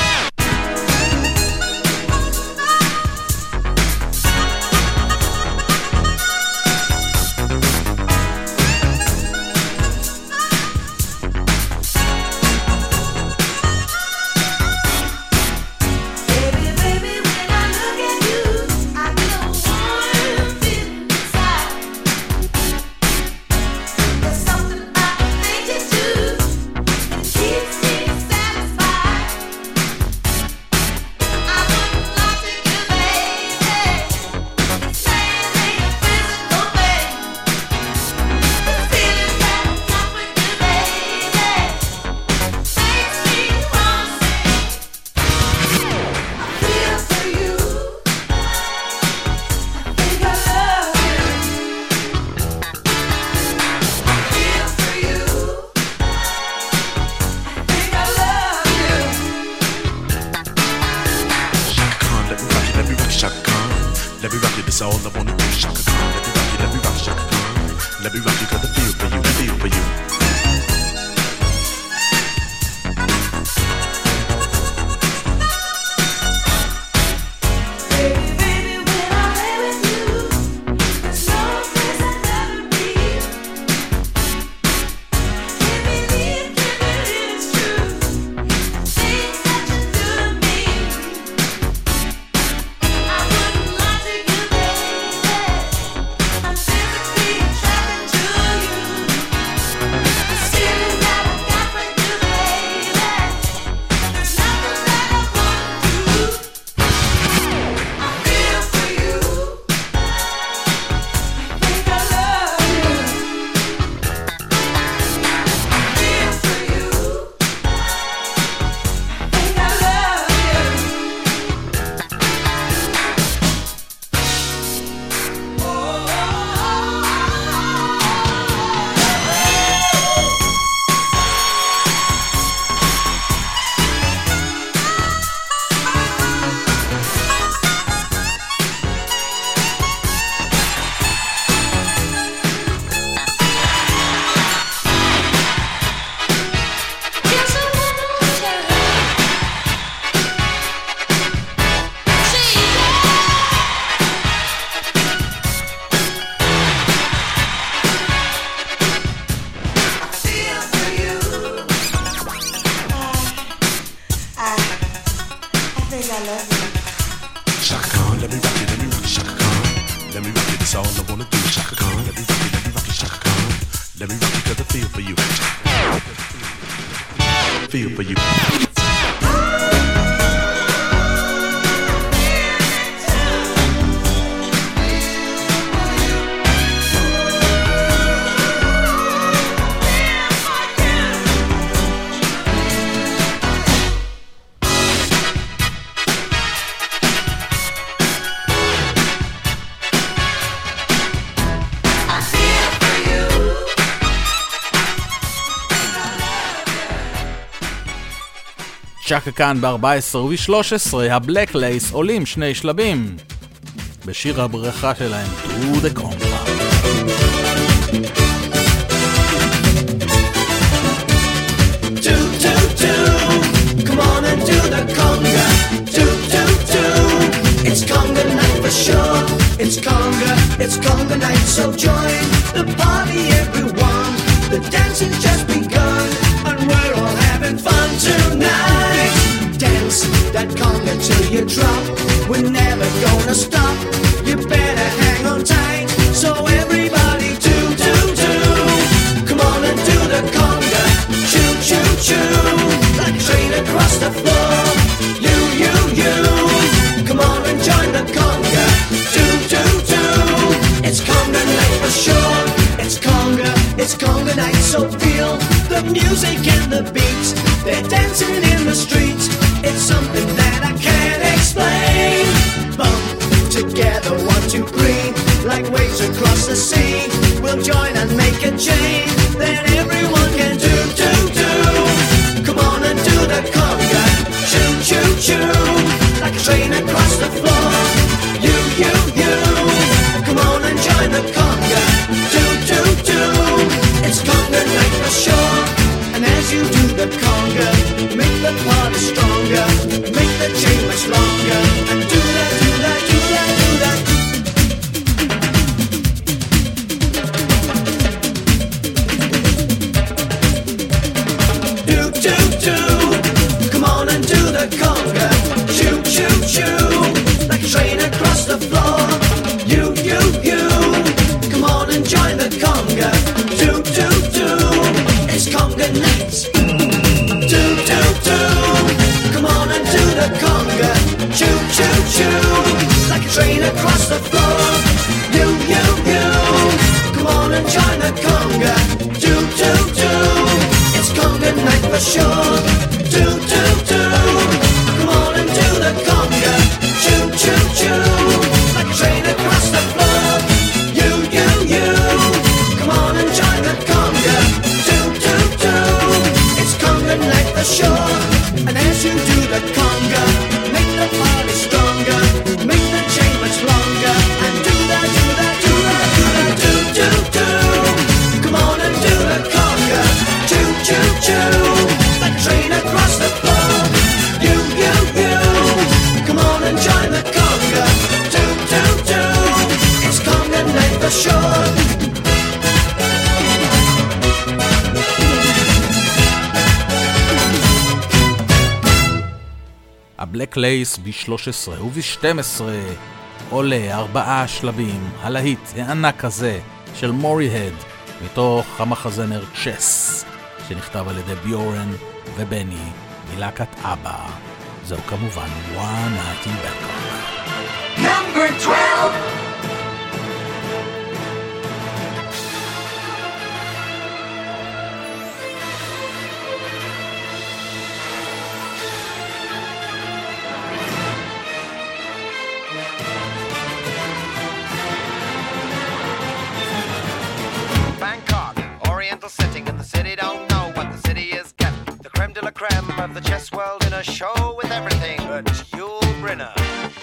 Let me rock it 'cause I feel for you. Feel for you. צ'קה כאן ב-14 וב-13, הבלק לייס עולים שני שלבים בשיר הברכה שלהם, To the Conga. Come on and do the conga. It's conga night for sure. It's conga night, so join the party everyone. The dancing's just begun and we're all having fun tonight. Dance that conga till you drop. We're never gonna stop. You better hang on tight. So everybody do. Come on and do the conga. Choo. Like a train across the floor. You. Come on and join the conga. Do. It's conga night for sure. It's conga night, so feel the music and the beats. They're dancing in the streets. It's something that I can't explain. Bump together, 1, 2, 3, like waves across the sea. We'll join and make a chain that everyone can do. Come on and do the conga. Choo. Like a train across the floor. You. Come on and join the conga. Do. It's conga night for sure. And as you do the conga, make the party stronger, make the chain much longer. And do that. Do. Come on and do the conga. Choo. Like a train across the floor. You. Come on and join the conga. Do. It's conga night. Do. Come on and do the conga. Choo. Like a train across the floor. You. Come on and join the conga. Do. It's conga night for sure. Do. Come on and do the conga. Choo. Like a train across the floor. You. Come on and join the conga. Do. It's conga night for sure. And as you do the conga, make the party stronger, make the chain much longer. And do that. Do. Come on and do the conga. Choo. Like a train across the floor. You. Come on and join the conga. Do. It's conga night for sure. הבלק לייס ב-13 וב-12 עולה 4 שלבים, הלהיט הענק הזה של מורי-הד מתוך המחזמר צ'ס שנכתב על ידי ביורן ובני מלהקת אבא. זהו כמובן One Night in Bangkok. Number 12. Bangkok, oriental setting, and the city don't know what the city is getting. The creme de la creme of the chess world in a show with everything but Yul Brynner.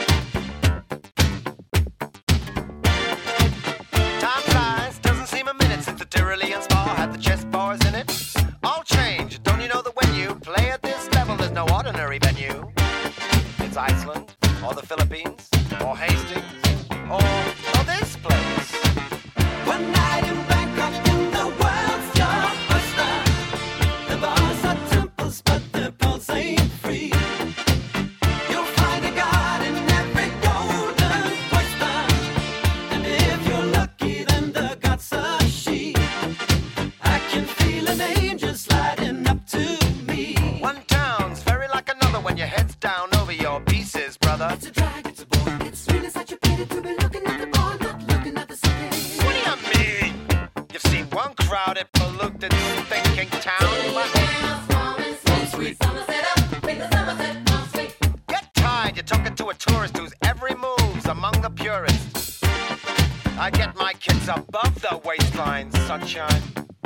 Time flies, doesn't seem a minute since the Tyrolean Spa had the chess bars in it. All change, don't you know that when you play at this level, there's no ordinary venue? It's Iceland, or the Philippines, or Hastings, or this place. One night in Bangkok, in the world's your oyster. The bars are temples, but the pulse ain't free. You'll find a garden crowded, polluted, thinking town. Get tired, you're talking to a tourist whose every move's among the purists. I get my kids above the waistline, sunshine.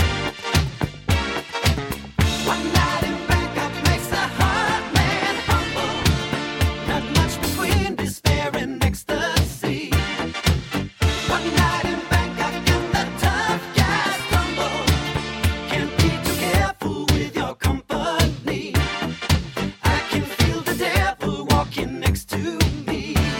One night in Bangkok makes the heart man humble. Not much between despair and ecstasy. One night in Bangkok and the tough guys stumble. Can't be too careful with your company. I can feel the devil walking next to me.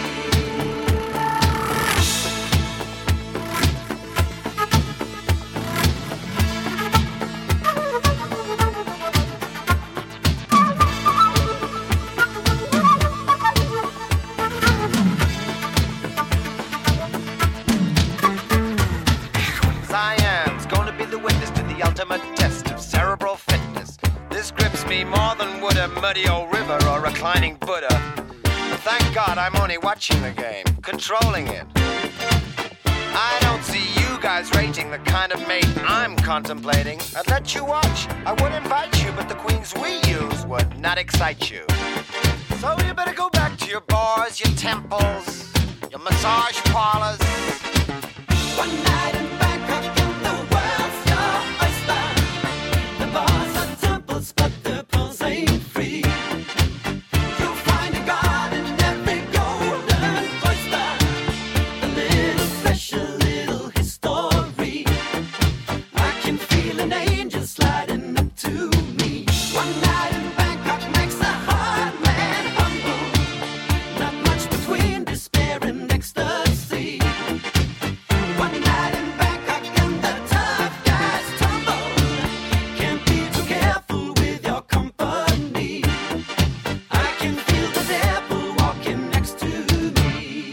Cyan's gonna be the witness to the ultimate test of cerebral fitness. This grips me more than would a muddy old river or reclining Buddha. Thank God I'm only watching the game, controlling it. I don't see you guys rating the kind of mate I'm contemplating. I'd let you watch, I would invite you, but the queens we use would not excite you. So you better go back to your bars, your temples, your massage parlors. One night in Bangkok and the world's your oyster. The bars are temples, but the pearls ain't free. You'll find a god in every golden oyster. A little special, little history. I can feel an angel sliding up to me. One night in Bangkok makes a hard man humble. Not much between despair and ecstasy. One night in Bangkok and the tough guys tumble. Can't be too careful with your company. I can feel the devil walking next to me.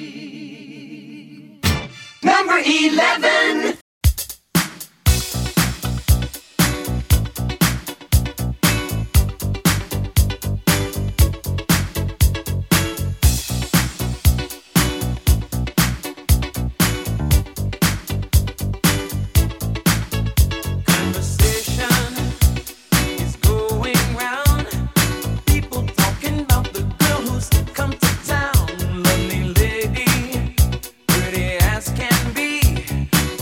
Number 11. Conversation is going round. People talking about the girl who's come to town. Lovely lady, pretty as can be.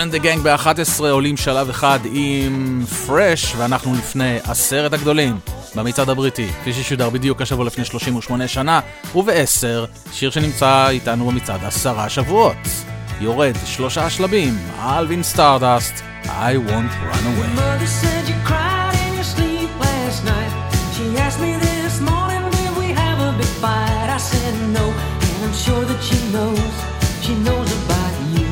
and the Gang ב-11 עולים שלב אחד עם Fresh, ואנחנו לפני 10 הגדולים במצעד הבריטי, כפי ששודר בדיוק השבוע לפני 38 שנה, וב-10 שיר שנמצא איתנו במצעד 10 שבועות. יורד 3 שלבים, אלווין סטארדסט, I Won't Run Away. Mother said you cried in your sleep last night. She asked me this morning, did we have a big fight? I said no, and I'm sure that she knows about you.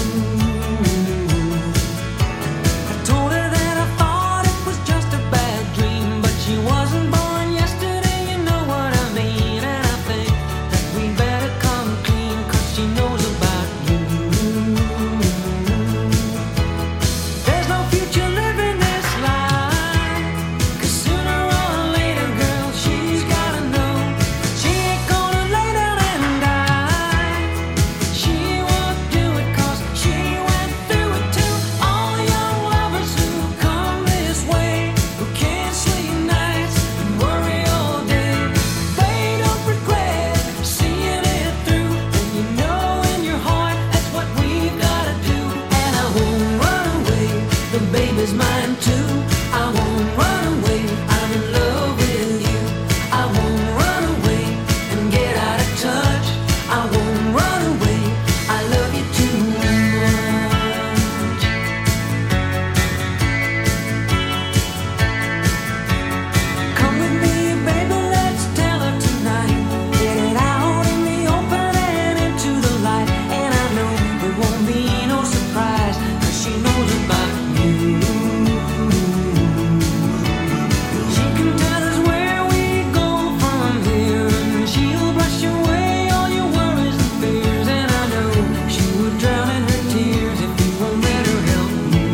I told her that I thought it was just a bad dream, but she wasn't born yesterday, you know what I mean. And I think that we better come clean, 'cause she knows about you. There's no future living this life, 'cause sooner or later, girl, she's gotta know she ain't gonna lay down and die. She won't do it 'cause she went through it too. All young lovers who come this way, who can't sleep nights and worry all day, they don't regret seeing it through. And you know in your heart that's what we've gotta do. And I won't run away, the baby's mine too. I won't run away, I'm in love with you. I won't run away and get out of touch. I won't run away, I love you too much. Come with me, baby, let's tell her tonight. Get it out in the open and into the light. And I know it won't be no surprise, 'cause she knows about you. She can tell us where we go from here, and she'll brush away all your worries and fears. And I know she would drown in her tears if you won't let her help you.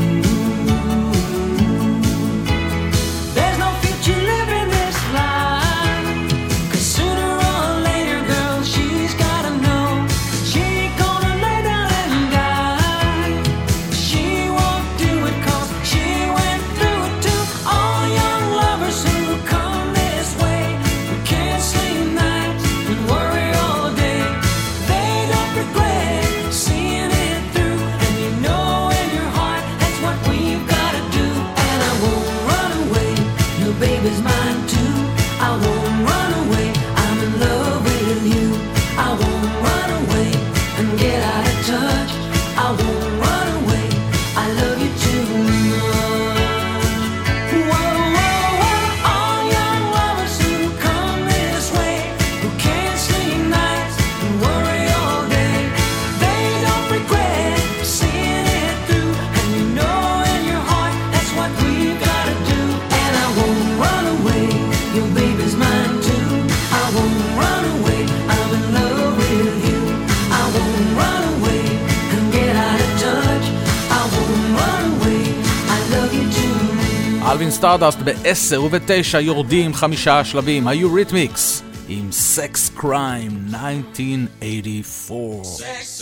There's no future living this life, 'cause sooner or later, girl, she's gotta know she ain't gonna lay down and die. She won't do it 'cause she went through it too. All young lovers who come this way, who can't sleep nights and worry all day, they don't regret seeing it through. And you know in your heart that's what we've gotta do. And I won't run away, your baby's mine too. I won't run away, I'm in love with you. I won't run away and get out of touch. I won't run away, I love you too much. Whoa, whoa, whoa, all young lovers who come this way, who can't sleep nights and worry all day, they don't regret seeing it through. And you know in your heart that's what we've gotta do. And I won't run away, your baby's mine too. I won't run away, I'm in love with you. I won't run away and get out of touch. I won't run away, I love you too. אלווין סטארדסט ב-10 וב-9 יורדים 5 שלבים, היוריתמיקס עם Sex Crime 1984.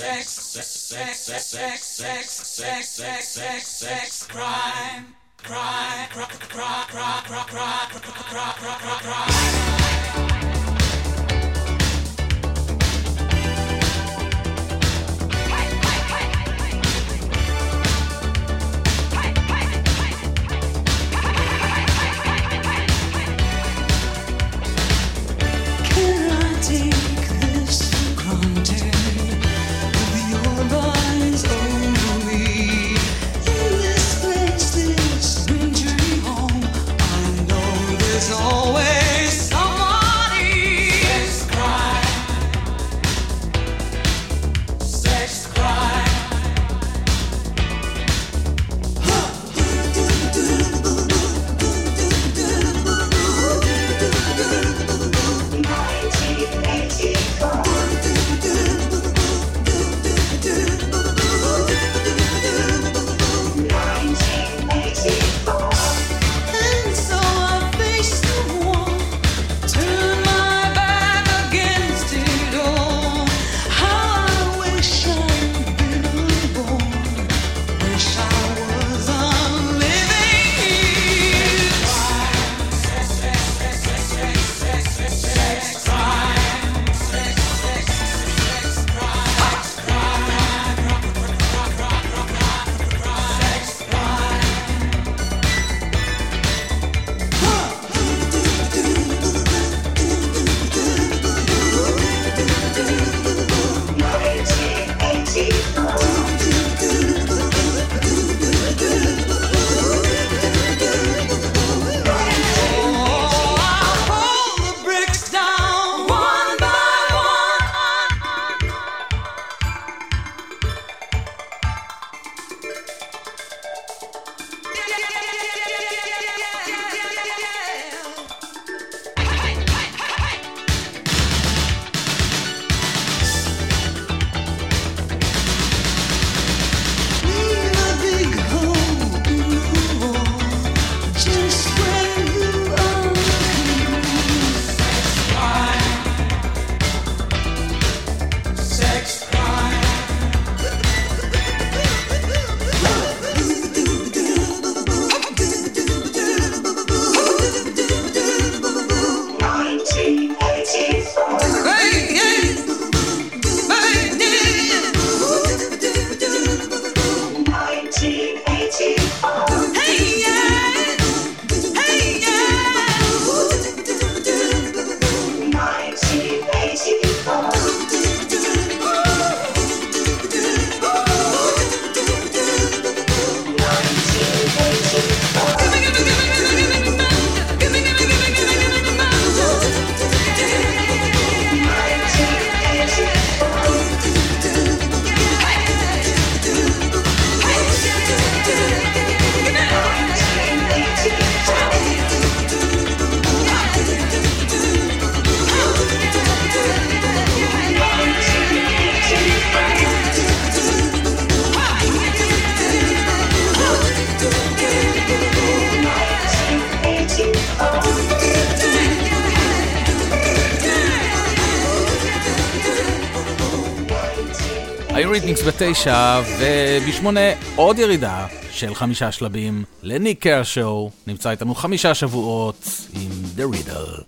Can I take this for granted? With your eyes over me, in this place, this dream home, I know there's always someone אריתמיקס ב9, וב8 עוד ירידה של 5 שלבים לניק קרשו. נמצא איתנו 5 שבועות עם The Riddle.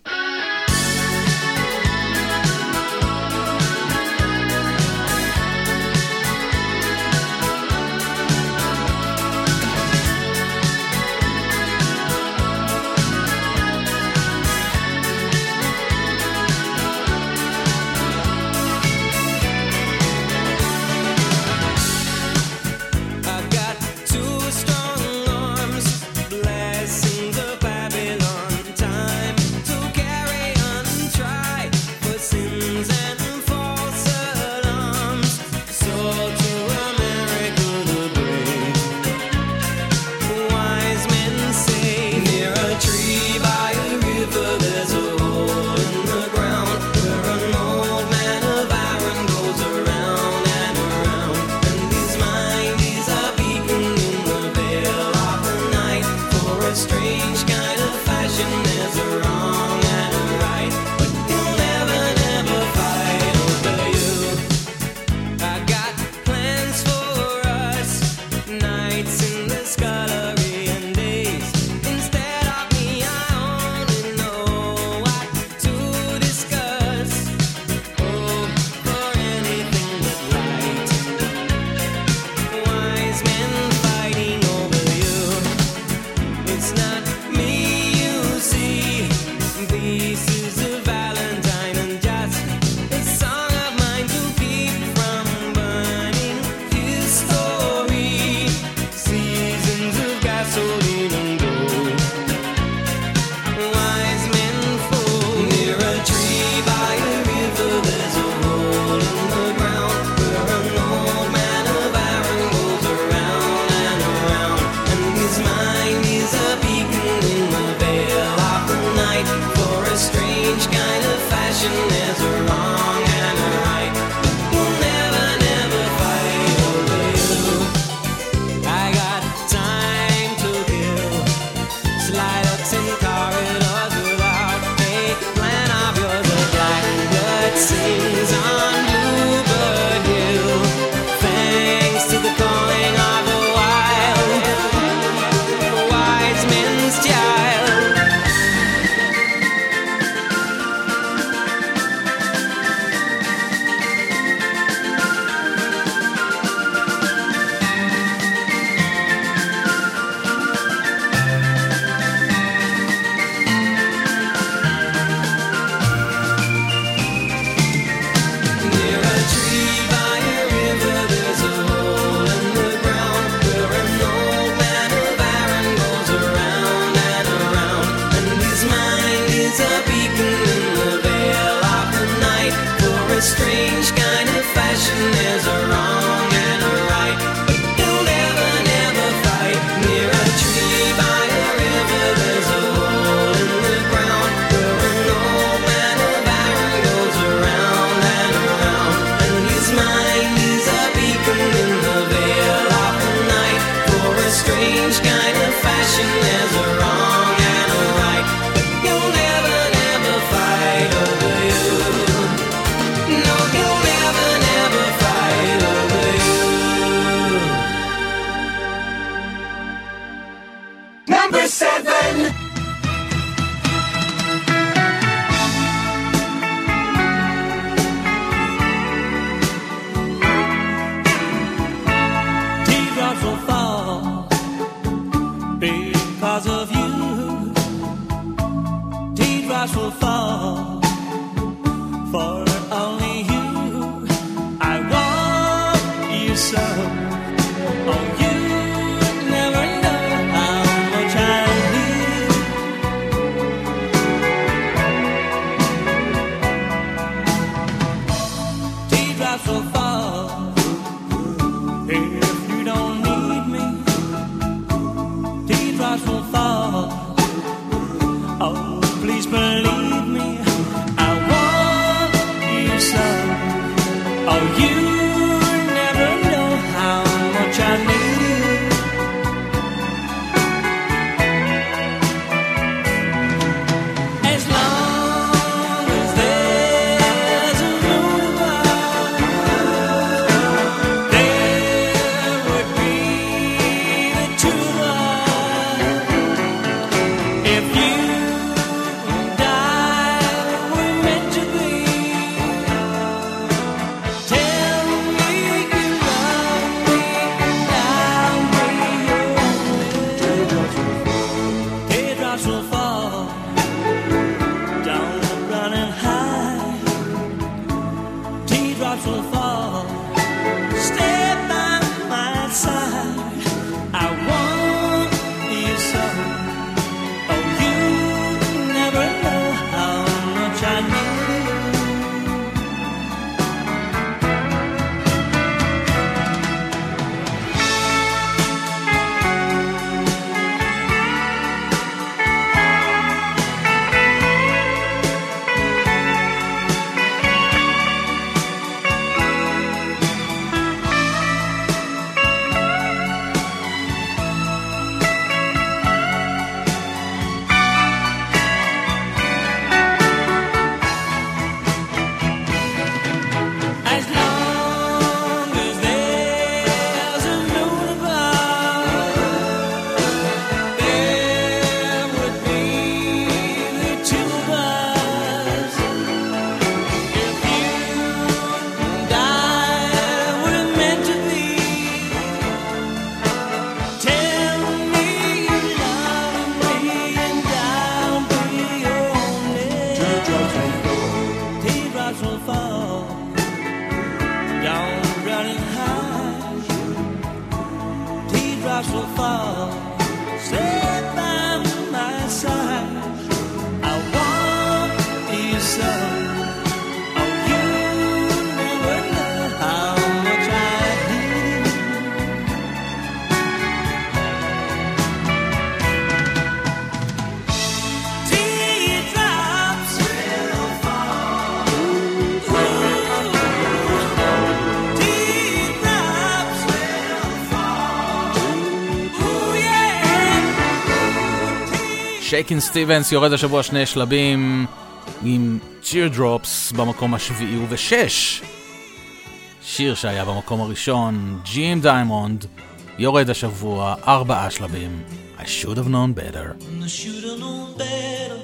שייקין סטיבנס יורד השבוע 2 שלבים עם Teardrops במקום השביעי ו6. שיר שהיה במקום הראשון, ג'ים דיימונד, יורד השבוע 4 שלבים. I should have known better. I should have known better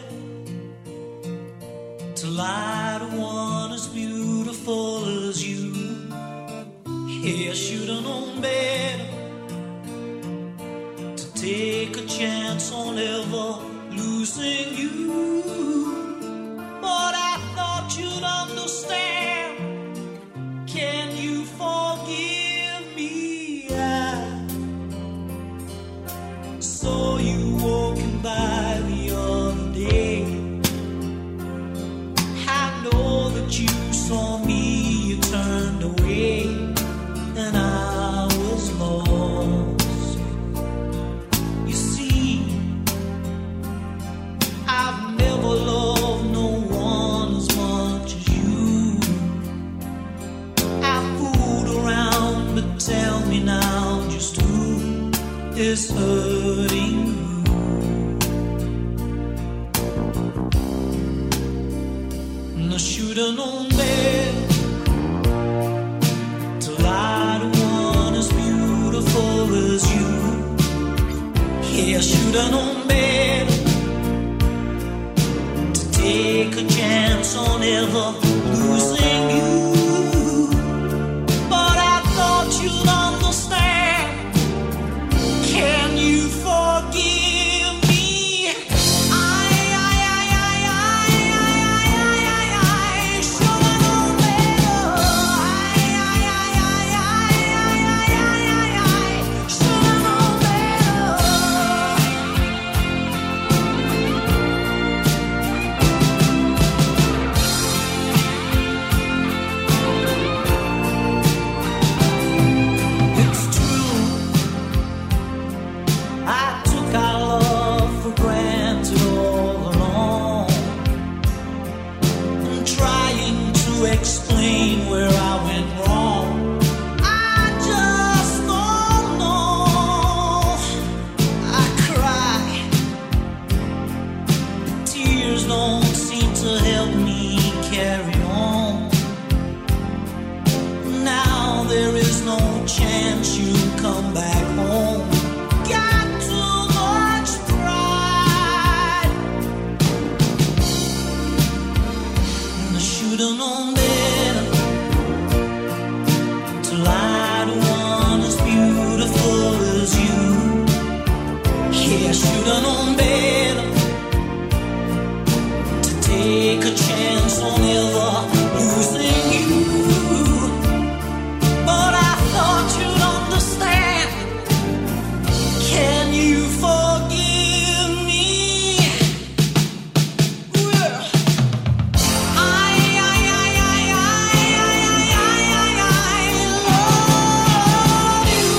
to lie to one as beautiful as you. Yeah, I should have known better to take a chance on ever losing you. But I thought you'd understand. Can you forgive me? I saw you walking by the other day. I know that you saw me, you turned away, and I was lost. You see, I've never loved no one as much as you. I fooled around, but tell me now just who is hurting you. And I should have known better to lie to one as beautiful as you. Yeah, I should have known better to take a chance on ever losing you. But I thought you'd understand. Can you forgive me? I should have known better. Should have known better. It's true, I took our love for granted all along. I'm trying to explain where I went wrong. I just don't know. I cry, tears don't seem to help me carry on. Now there is no chance you'll come back home. Got too much pride. And I should have known better to lie to one as beautiful as you. Yeah, I should have known better to take a chance on ever losing you. But I thought you'd understand. Can you forgive me? Well, I love you.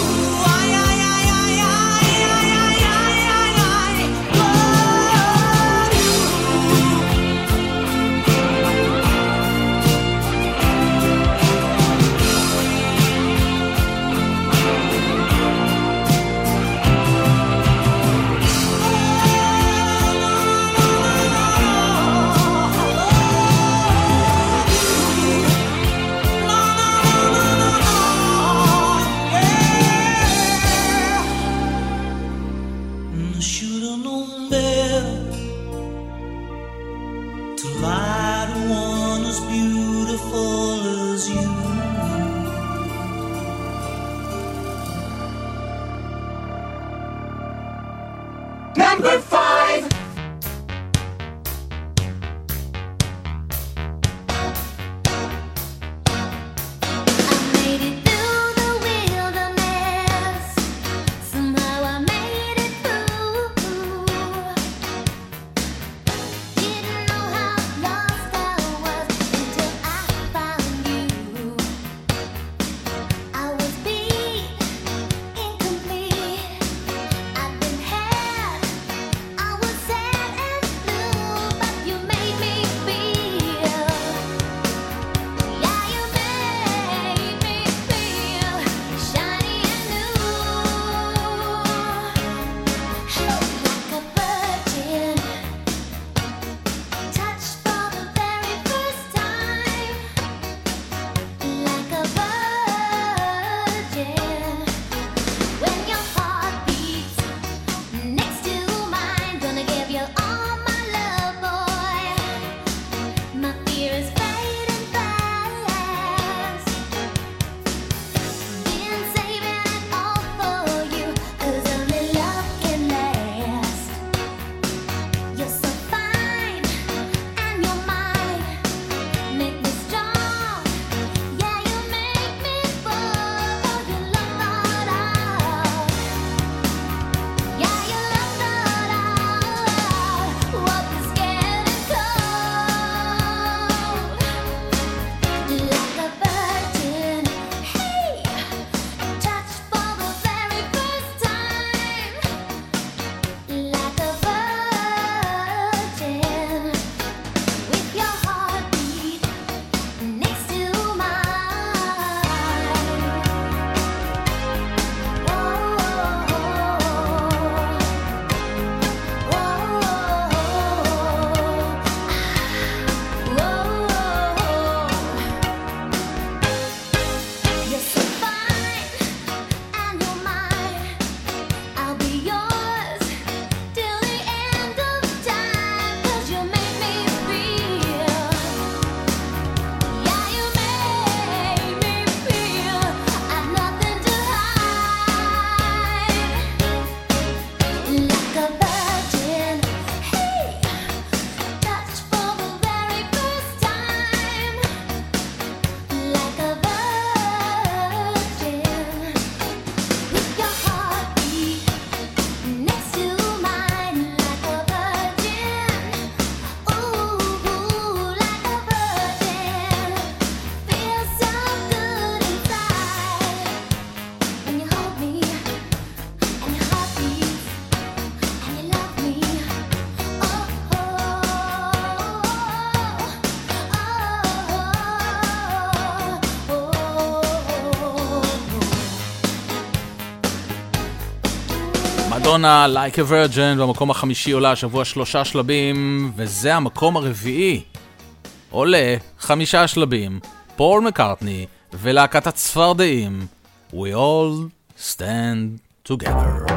I should have known better to lie to one as beautiful as you. Number 5. I מדונה, Like a Virgin, במקום החמישי עולה השבוע 3 שלבים, וזה המקום הרביעי. עולה 5 שלבים, פול מקארטני ולהקת הצפרדעים, We all stand together.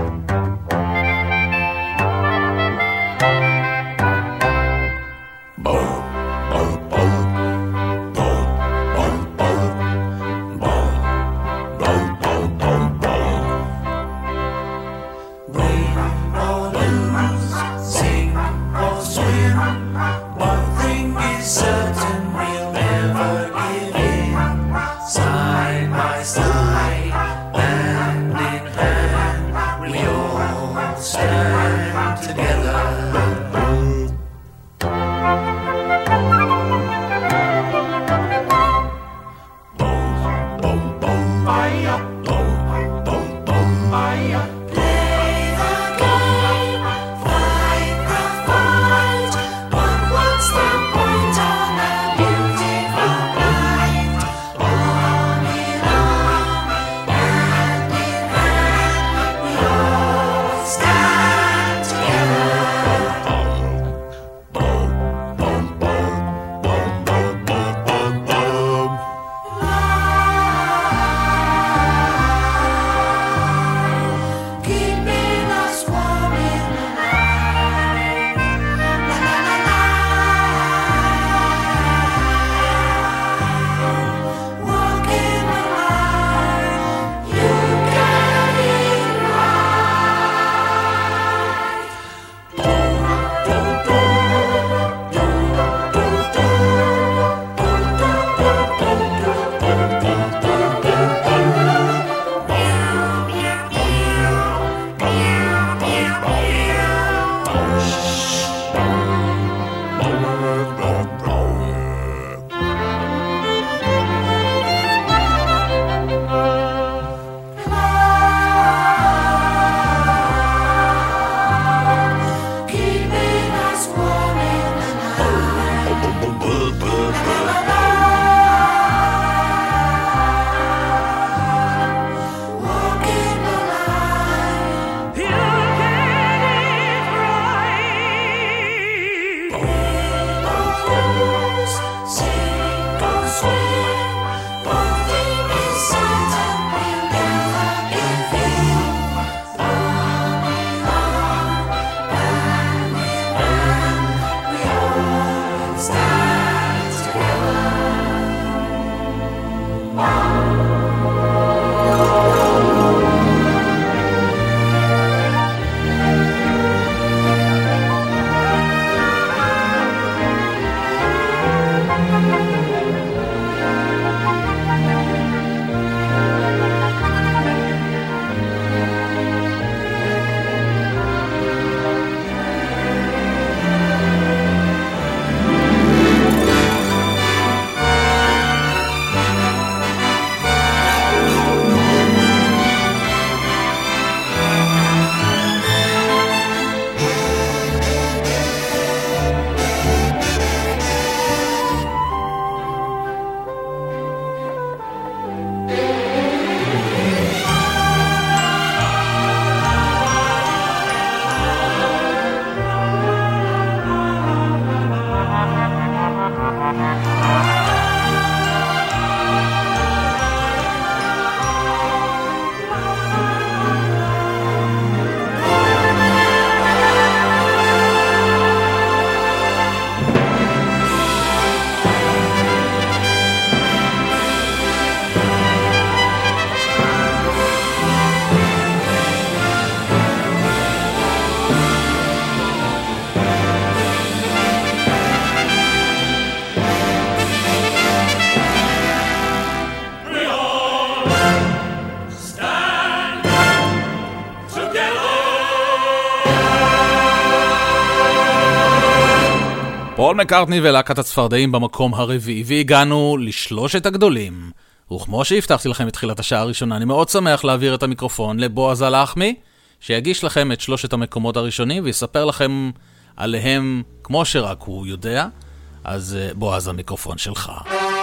פול מקארטני ולהקת הצפרדעים במקום הרביעי, והגענו לשלושת הגדולים. וכמו שהבטחתי לכם בתחילת השעה הראשונה, אני מאוד שמח להעביר את המיקרופון לבועז הלחמי, שיגיש לכם את שלושת המקומות הראשונים ויספר לכם עליהם כמו שרק הוא יודע. אז בועז, המיקרופון שלך.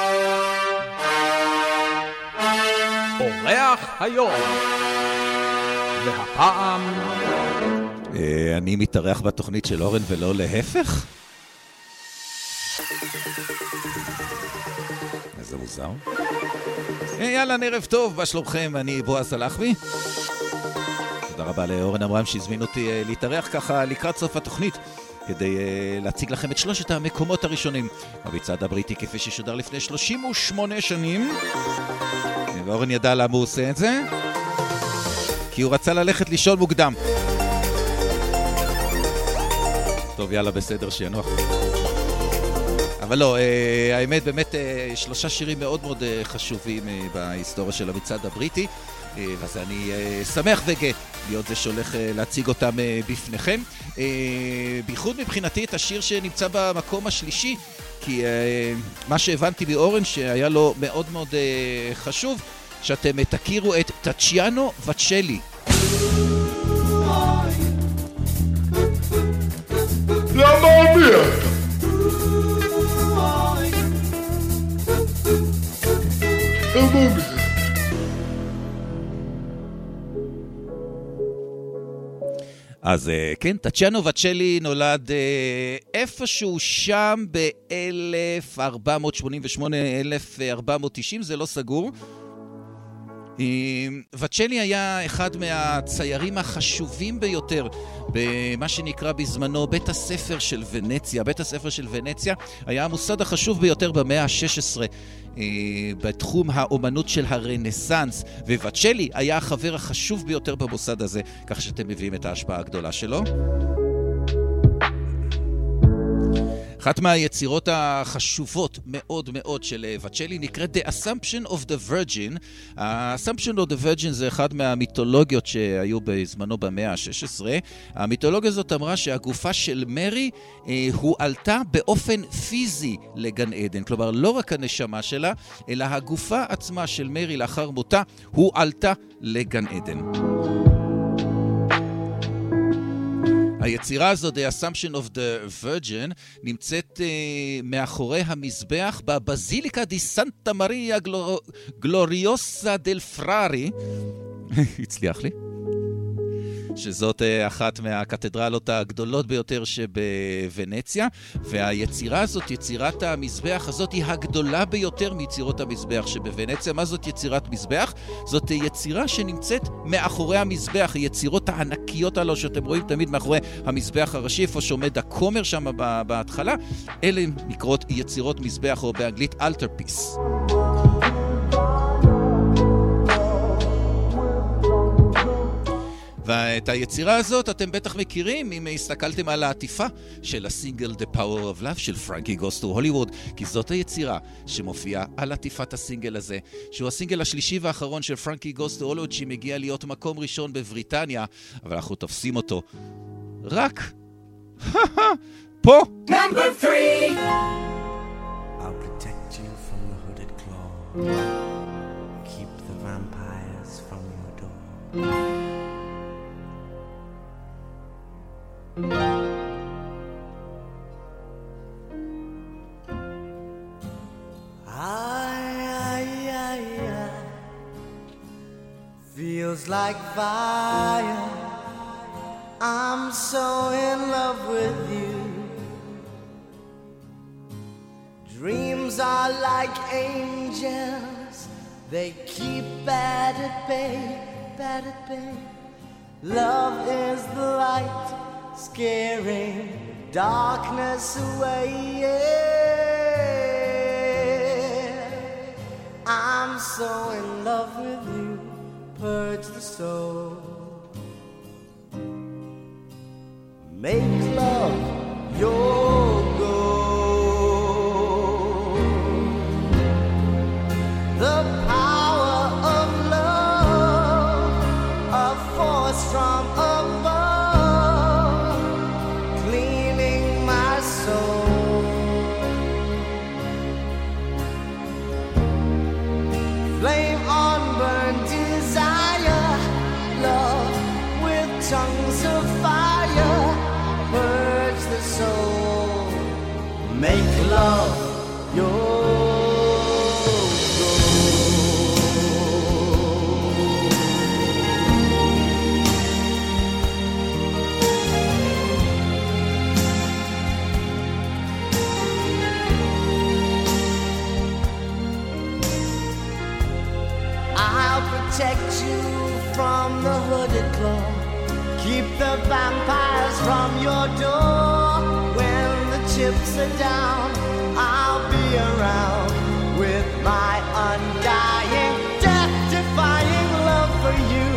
אורח היום, והפעם אני מתארח בתוכנית של אורן ולא להפך? איזה מוזר. יאללה, ערב טוב, מה שלומכם? אני בועז הלחמי. תודה רבה לאורן אמרם שהזמין אותי להתארח ככה לקראת סוף התוכנית, כדי להציג לכם את שלושת המקומות הראשונים במצעד הבריטי כפי ששודר לפני 38 שנים. ואורן ידע למה הוא עושה את זה, כי הוא רצה ללכת לישון מוקדם. טוב, יאללה, בסדר, שינוח. אבל לא, האמת באמת שלושה שירים מאוד מאוד חשובים בהיסטוריה של המצעד הבריטי, אז אני שמח וגאה להיות זה שהולך להציג אותם בפניכם. בייחוד מבחינתי את השיר שנמצא במקום השלישי, כי מה שהבנתי מאורן שהיה לו מאוד מאוד חשוב, שאתם תכירו את טאצ'יאנו וצ'לי. למה מי? אז כן, טאצ'יאנו וצ'לי נולד איפשהו שם ב-1488-1490, זה לא סגור. וצ'לי היה אחד מהציירים החשובים ביותר במה שנקרא בזמנו בית הספר של ונציה. בית הספר של ונציה היה המוסד החשוב ביותר במאה ה-16 בתחום האומנות של הרנסנס, ווצ'לי היה החבר החשוב ביותר במוסד הזה, כך שאתם מביאים את ההשפעה הגדולה שלו. אחת מהיצירות החשובות מאוד מאוד של וצ'לי נקראת The Assumption of the Virgin. ה-Assumption of the Virgin זה אחד מהמיתולוגיות שהיו בזמנו במאה ה-16. המיתולוגיה הזאת אמרה שהגופה של מרי הועלתה באופן פיזי לגן עדן. כלומר, לא רק הנשמה שלה, אלא הגופה עצמה של מרי לאחר מותה הועלתה לגן עדן. היצירה הזאת, The Assumption of the Virgin, נמצאת מאחורי המזבח בבזיליקה די סנטה מריה גלוריוסה דל פרארי. הצליח לי. שזאת אחת מהקתדרלות הגדולות ביותר שבוונציה, והיצירה הזאת, יצירת המזבח הזאת, היא הגדולה ביותר מיצירות המזבח שבוונציה. מה זאת יצירת מזבח? זאת יצירה שנמצאת מאחורי המזבח, היצירות הענקיות הללו שאתם רואים תמיד מאחורי המזבח הראשי, איפה שעומד הכומר שם בהתחלה, אלה נקראות יצירות מזבח, או באנגלית altarpiece. ואת היצירה הזאת אתם בטח מכירים אם הסתכלתם על העטיפה של הסינגל The Power of Love של פרנקי גוס טו הוליווד, כי זאת היצירה שמופיעה על עטיפת הסינגל הזה, שהוא הסינגל השלישי והאחרון של פרנקי גוס טו הוליווד, שמגיע להיות מקום ראשון בבריטניה, אבל אנחנו תופסים אותו רק פה. Number 3. I'll protect you from the hooded claw. Keep the vampires from your door. Feels like fire. I'm so in love with you. Dreams are like angels. They keep bad at bay, bad at bay. Love is the light, scaring darkness away. Yeah. I'm so in love with you. Purge the soul. Make love your goal. The power of love, a force from above, cleaning my soul. make love your protect you from the hooded claw. Keep the vampires from your door. When the chips are down, I'll be around with my undying, death-defying love for you.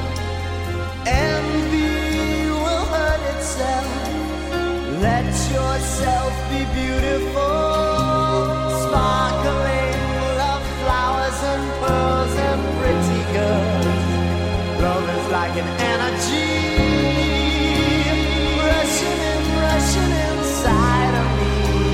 Envy will hurt itself. Let yourself be beautiful, sparkling love flowers and pearls and pretty girls. Love is like an energy rushing inside of me.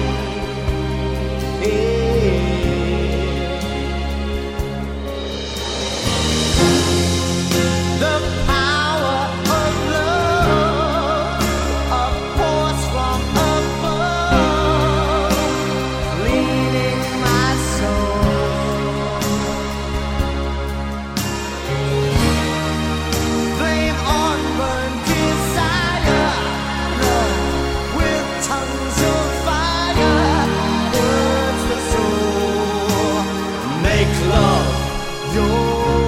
The power of love, a force from above, leading my soul. Flame on, burn desire, love with tongues of fire, burns the soul. Make love your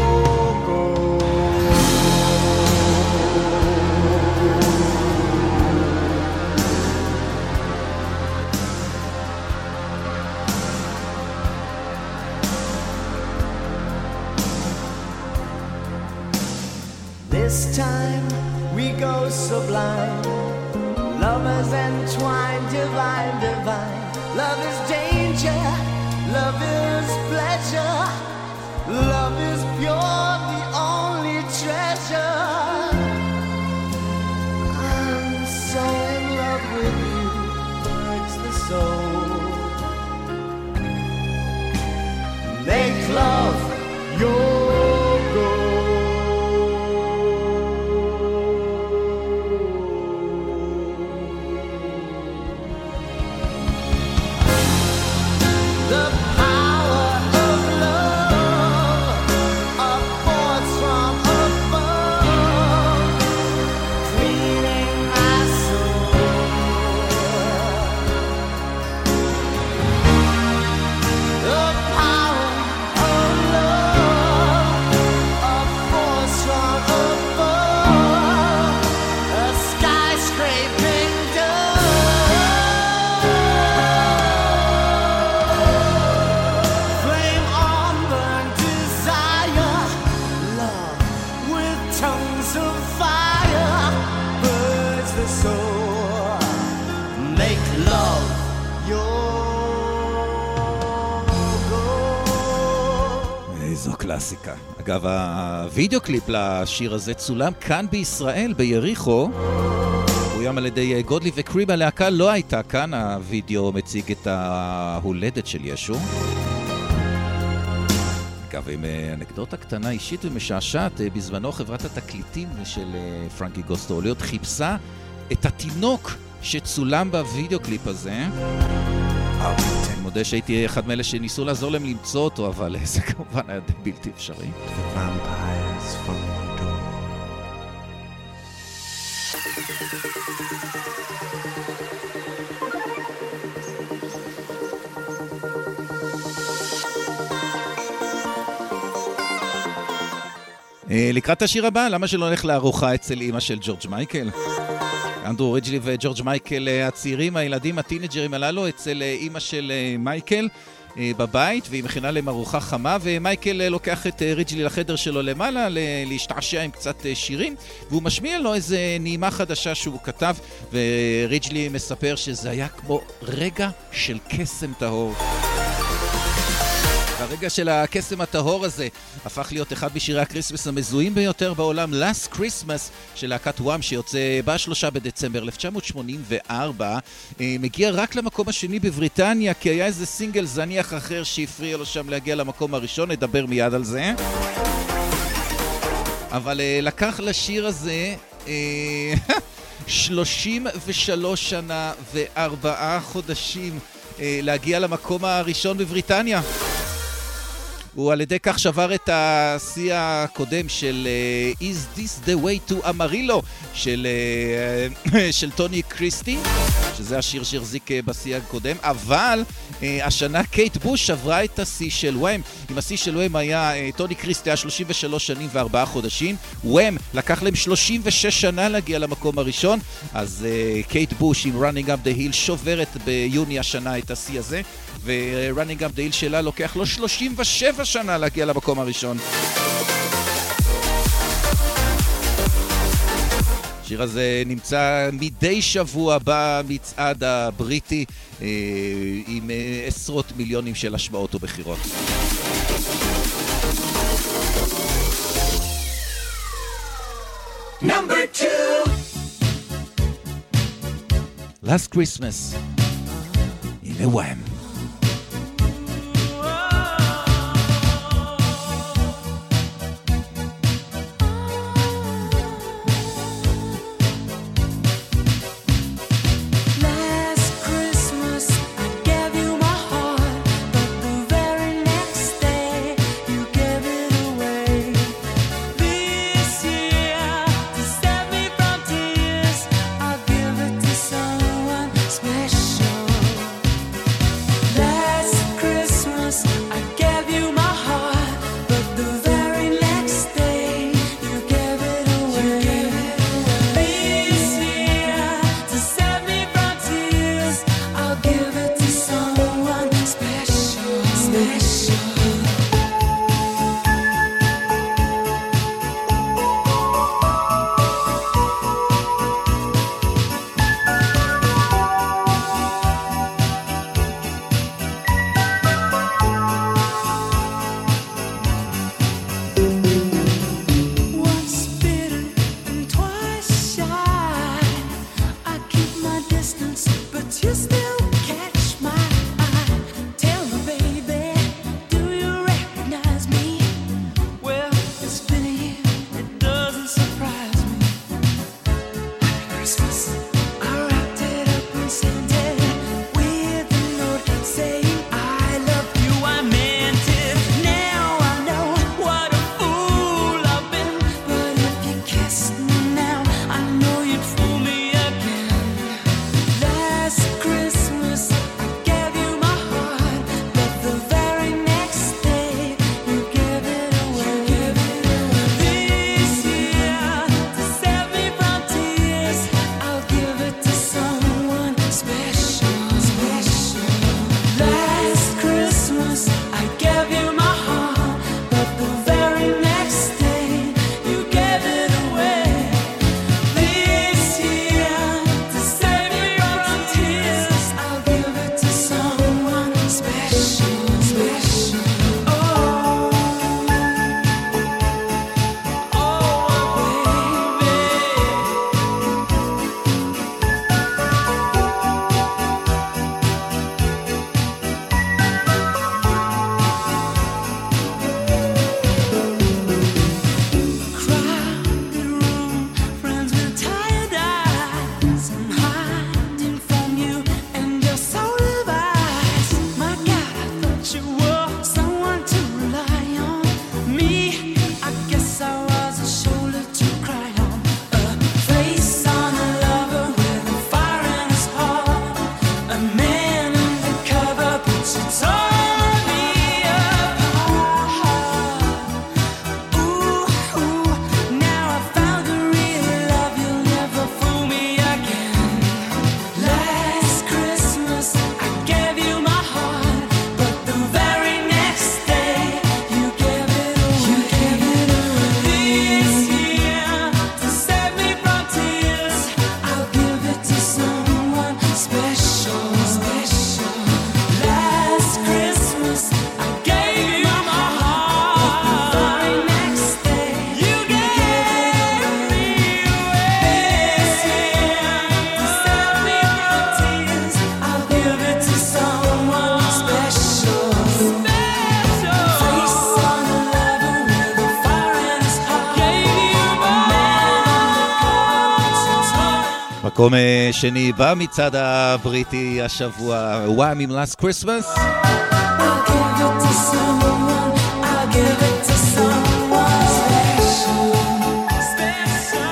This time we go sublime, lovers entwined, divine, divine. Love is danger, love is pleasure, love is pure, the only treasure. I'm so in love with you, hurts the soul. Make love your goal. The power of love, a force from above, cleaning my soul. The power of love, a force from above, a skyscraping flame on, burn desire, love with tongues of fire, burns the soul. Make love your goal. איזו קלאסיקה. אגב, הווידאו קליפ לשיר הזה צולם כאן בישראל, ביריחו. הוא ים על ידי גודלי וקריב. הלהקה לא הייתה כאן, הווידאו מציג את ההולדת של ישו. אגב, עם אנקדוטה קטנה אישית ומשעשעת, בזמנו חברת התקליטים של פרנקי גוסטוליות חיפשה את התינוק שצולם בווידאו קליפ הזה. אני מודה שהייתי אחד מאלה שניסו לעזור להם למצוא אותו, אבל זה כמובן היה בלתי אפשרי. Vampires from your door. לקראת השיר הבא, למה שלא נלך לארוחה אצל אמא של ג'ורג' מייקל? אנדרו ריג'לי וג'ורג' מייקל הצעירים, הילדים, הטינג'רים הללו, אצל אמא של מייקל בבית, והיא מכינה להם ארוחה חמה, ומייקל לוקח את ריג'לי לחדר שלו למעלה, להשתעשע עם קצת שירים, והוא משמיע לו איזה נעימה חדשה שהוא כתב, וריג'לי מספר שזה היה כמו רגע של קסם טהור. והרגע של הקסם הטהור הזה הפך להיות אחד משירי הקריסמס המזוהים ביותר בעולם, Last Christmas של להקת וואם, שיוצא ב3 בדצמבר 1984. מגיע רק למקום השני בבריטניה, כי היה איזה סינגל זניח אחר שהפריע לו שם להגיע למקום הראשון, נדבר מיד על זה. אבל לקח לשיר הזה 33 שנה ו4 חודשים להגיע למקום הראשון בבריטניה. הוא על ידי כך שבר את השיא הקודם של Is This the Way to Amarillo של טוני קריסטי, שזה השיר שהחזיק בשיא הקודם, אבל השנה קייט בוש שברה את השיא של וואם. אם השיא של וואם היה, טוני קריסטי היה 33 שנים ו4 חודשים, וואם לקח להם 36 שנה להגיע למקום הראשון, אז קייט בוש עם Running Up the Hill שוברת ביוני השנה את השיא הזה, ו-Running Up the Hill שלה לוקח לו 37 שנה להגיע למקום הראשון. השיר הזה נמצא מדי שבוע במצעד הבריטי עם עשרות מיליונים של השמעות ובחירות. Number 2. Last Christmas in a Wham. מקום שני במצעד הבריטי השבוע, Wham! עם Last Christmas. I'll give it to someone, I'll give it to someone special, special.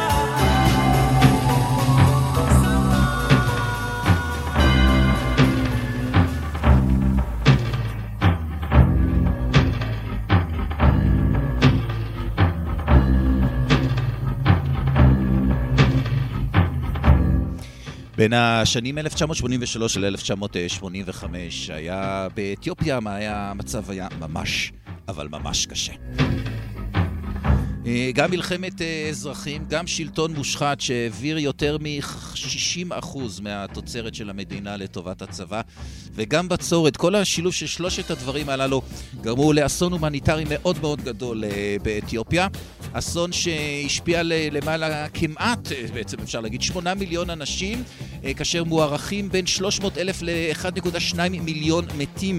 בין השנים 1983 ל-1985 היה באתיופיה, המצב היה ממש, אבל ממש קשה. גם מלחמת אזרחים, גם שלטון מושחת שהעביר יותר מ-60% מהתוצרת של המדינה לטובת הצבא, וגם בצורת. כל השילוב של שלושת הדברים הללו גרמו לאסון הומניטרי מאוד מאוד גדול באתיופיה. אסון שהשפיע למעלה כמעט, בעצם אפשר להגיד, 8 מיליון אנשים, כאשר מוערכים בין 300,000 ל-1.2 מיליון מתים.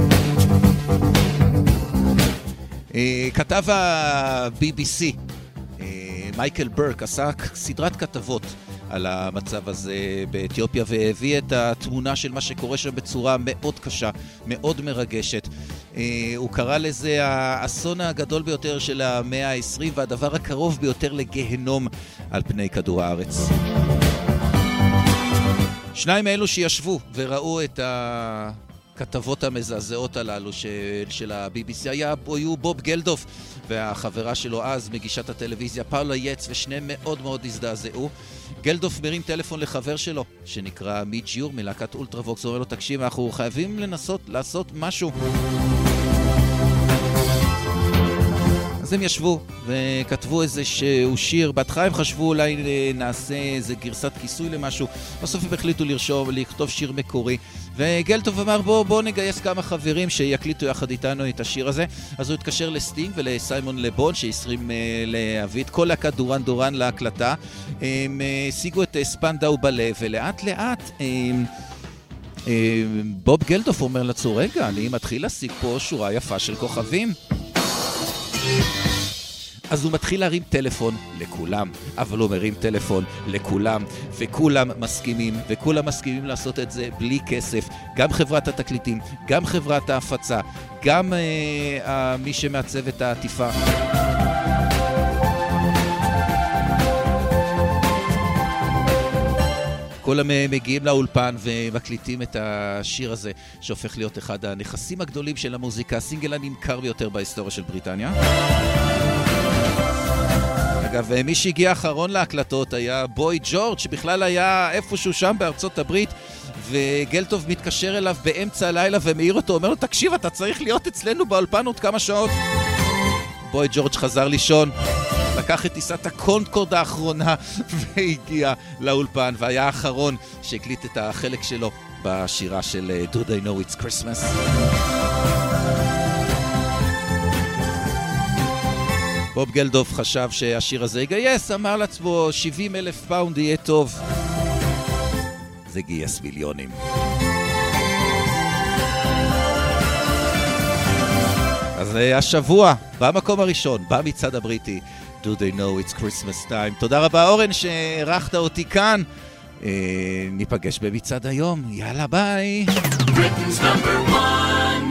כתב ה-BBC, מייקל ברק, עשה סדרת כתבות על המצב הזה באתיופיה והביא את התמונה של מה שקורה שם בצורה מאוד קשה, מאוד מרגשת. הוא קרא לזה האסון הגדול ביותר של המאה ה-20 והדבר הקרוב ביותר לגהנום על פני כדור הארץ. שניים מאלו שישבו וראו את הכתבות המזעזעות הללו של ה-BBC היו בוב גלדוף והחברה שלו אז, מגישת הטלוויזיה פאולה יץ, ושניהם מאוד מאוד הזדעזעו. גלדוף מרים טלפון לחבר שלו שנקרא מיץ' יור מלהקת אולטרווקס, הוא אומר לו, תקשיב, אנחנו חייבים לנסות לעשות משהו. אז הם ישבו וכתבו איזשהו שיר. בהתחלה הם חשבו אולי נעשה איזה גרסת כיסוי למשהו, בסוף הם החליטו לכתוב שיר מקורי, וגלטוב אמר בוא נגייס כמה חברים שיקליטו יחד איתנו את השיר הזה. אז הוא התקשר לסטינג ולסיימון לבון שהסרים להביא את כל להקת דורן דורן להקלטה. הם השיגו את ספנדאו בלב, ולאט לאט בוב גלטוף אומר לעצמו, רגע, אני מתחיל להשיג פה שורה יפה של כוכבים. אז הוא מתחיל להרים טלפון לכולם, אבל הוא מרים טלפון לכולם, וכולם מסכימים, וכולם מסכימים לעשות את זה בלי כסף. גם חברת התקליטים, גם חברת ההפצה, גם מי שמעצב את העטיפה. כולם מגיעים לאולפן ומקליטים את השיר הזה, שהופך להיות אחד הנכסים הגדולים של המוזיקה, הסינגל הנמכר ביותר בהיסטוריה של בריטניה. אגב, מי שהגיע האחרון להקלטות היה בוי ג'ורג', שבכלל היה איפשהו שם בארצות הברית, וגלטוב מתקשר אליו באמצע הלילה ומעיר אותו, אומר לו, תקשיב, אתה צריך להיות אצלנו באולפן עוד כמה שעות. בוי ג'ורג' חזר לישון, לקח את טיסת הקונקורד האחרונה והגיע לאולפן, והיה האחרון שהקליט את החלק שלו בשירה של Do They Know It's Christmas. בוב גלדוף חשב שהשיר הזה יגייס, אמר לעצמו 70,000 פאונד יהיה טוב. זה גייס מיליונים. אז השבוע, במקום הראשון, במצעד הבריטי, Do They Know It's Christmas Time. תודה רבה אורן שערכת אותי כאן. ניפגש במצעד היום. יאללה ביי. Britain's number one.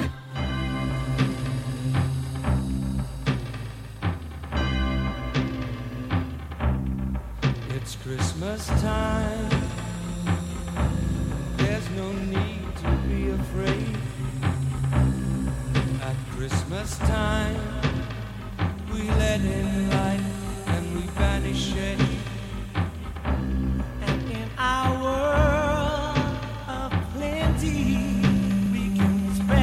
It's Christmas time. There's no need to be afraid. At Christmas time, we let in light and we banish shade. And in our world of plenty, we can spend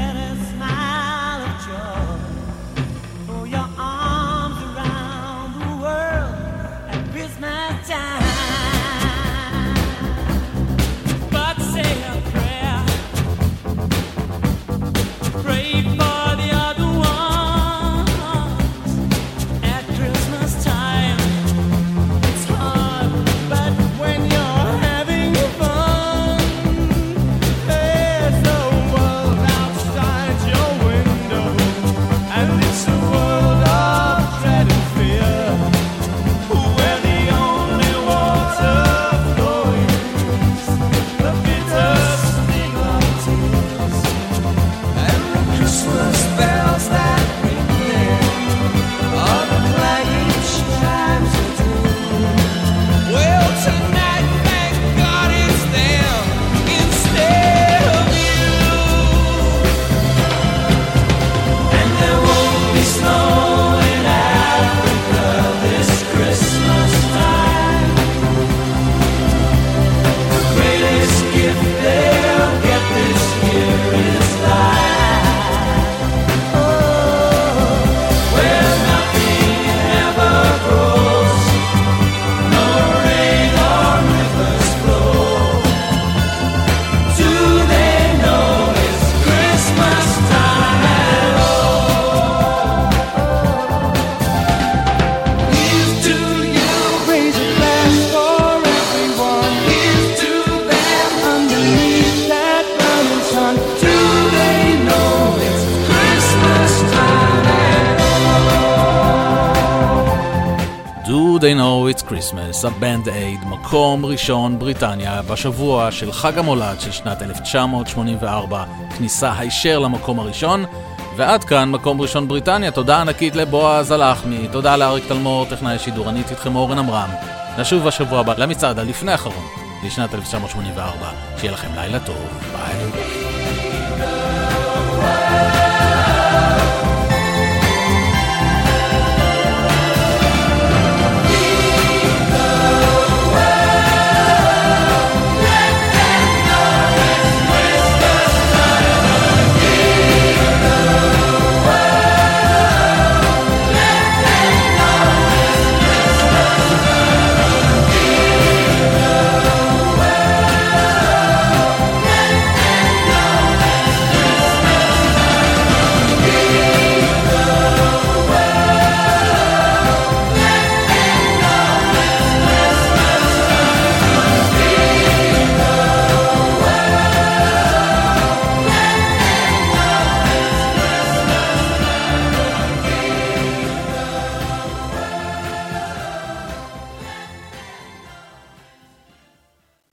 They Know It's Christmas, הבנד אייד, מקום ראשון בריטניה בשבוע של חג המולד של שנת 1984, כניסה הישר למקום הראשון, ועד כאן מקום ראשון בריטניה. תודה ענקית לבועז הלחמי, תודה לאריק תלמור, טכנאי השידורנית, איתכם אורן אמרם. נשוב בשבוע הבא למצעד הלפני האחרון לשנת 1984. שיהיה לכם לילה טוב, ביי.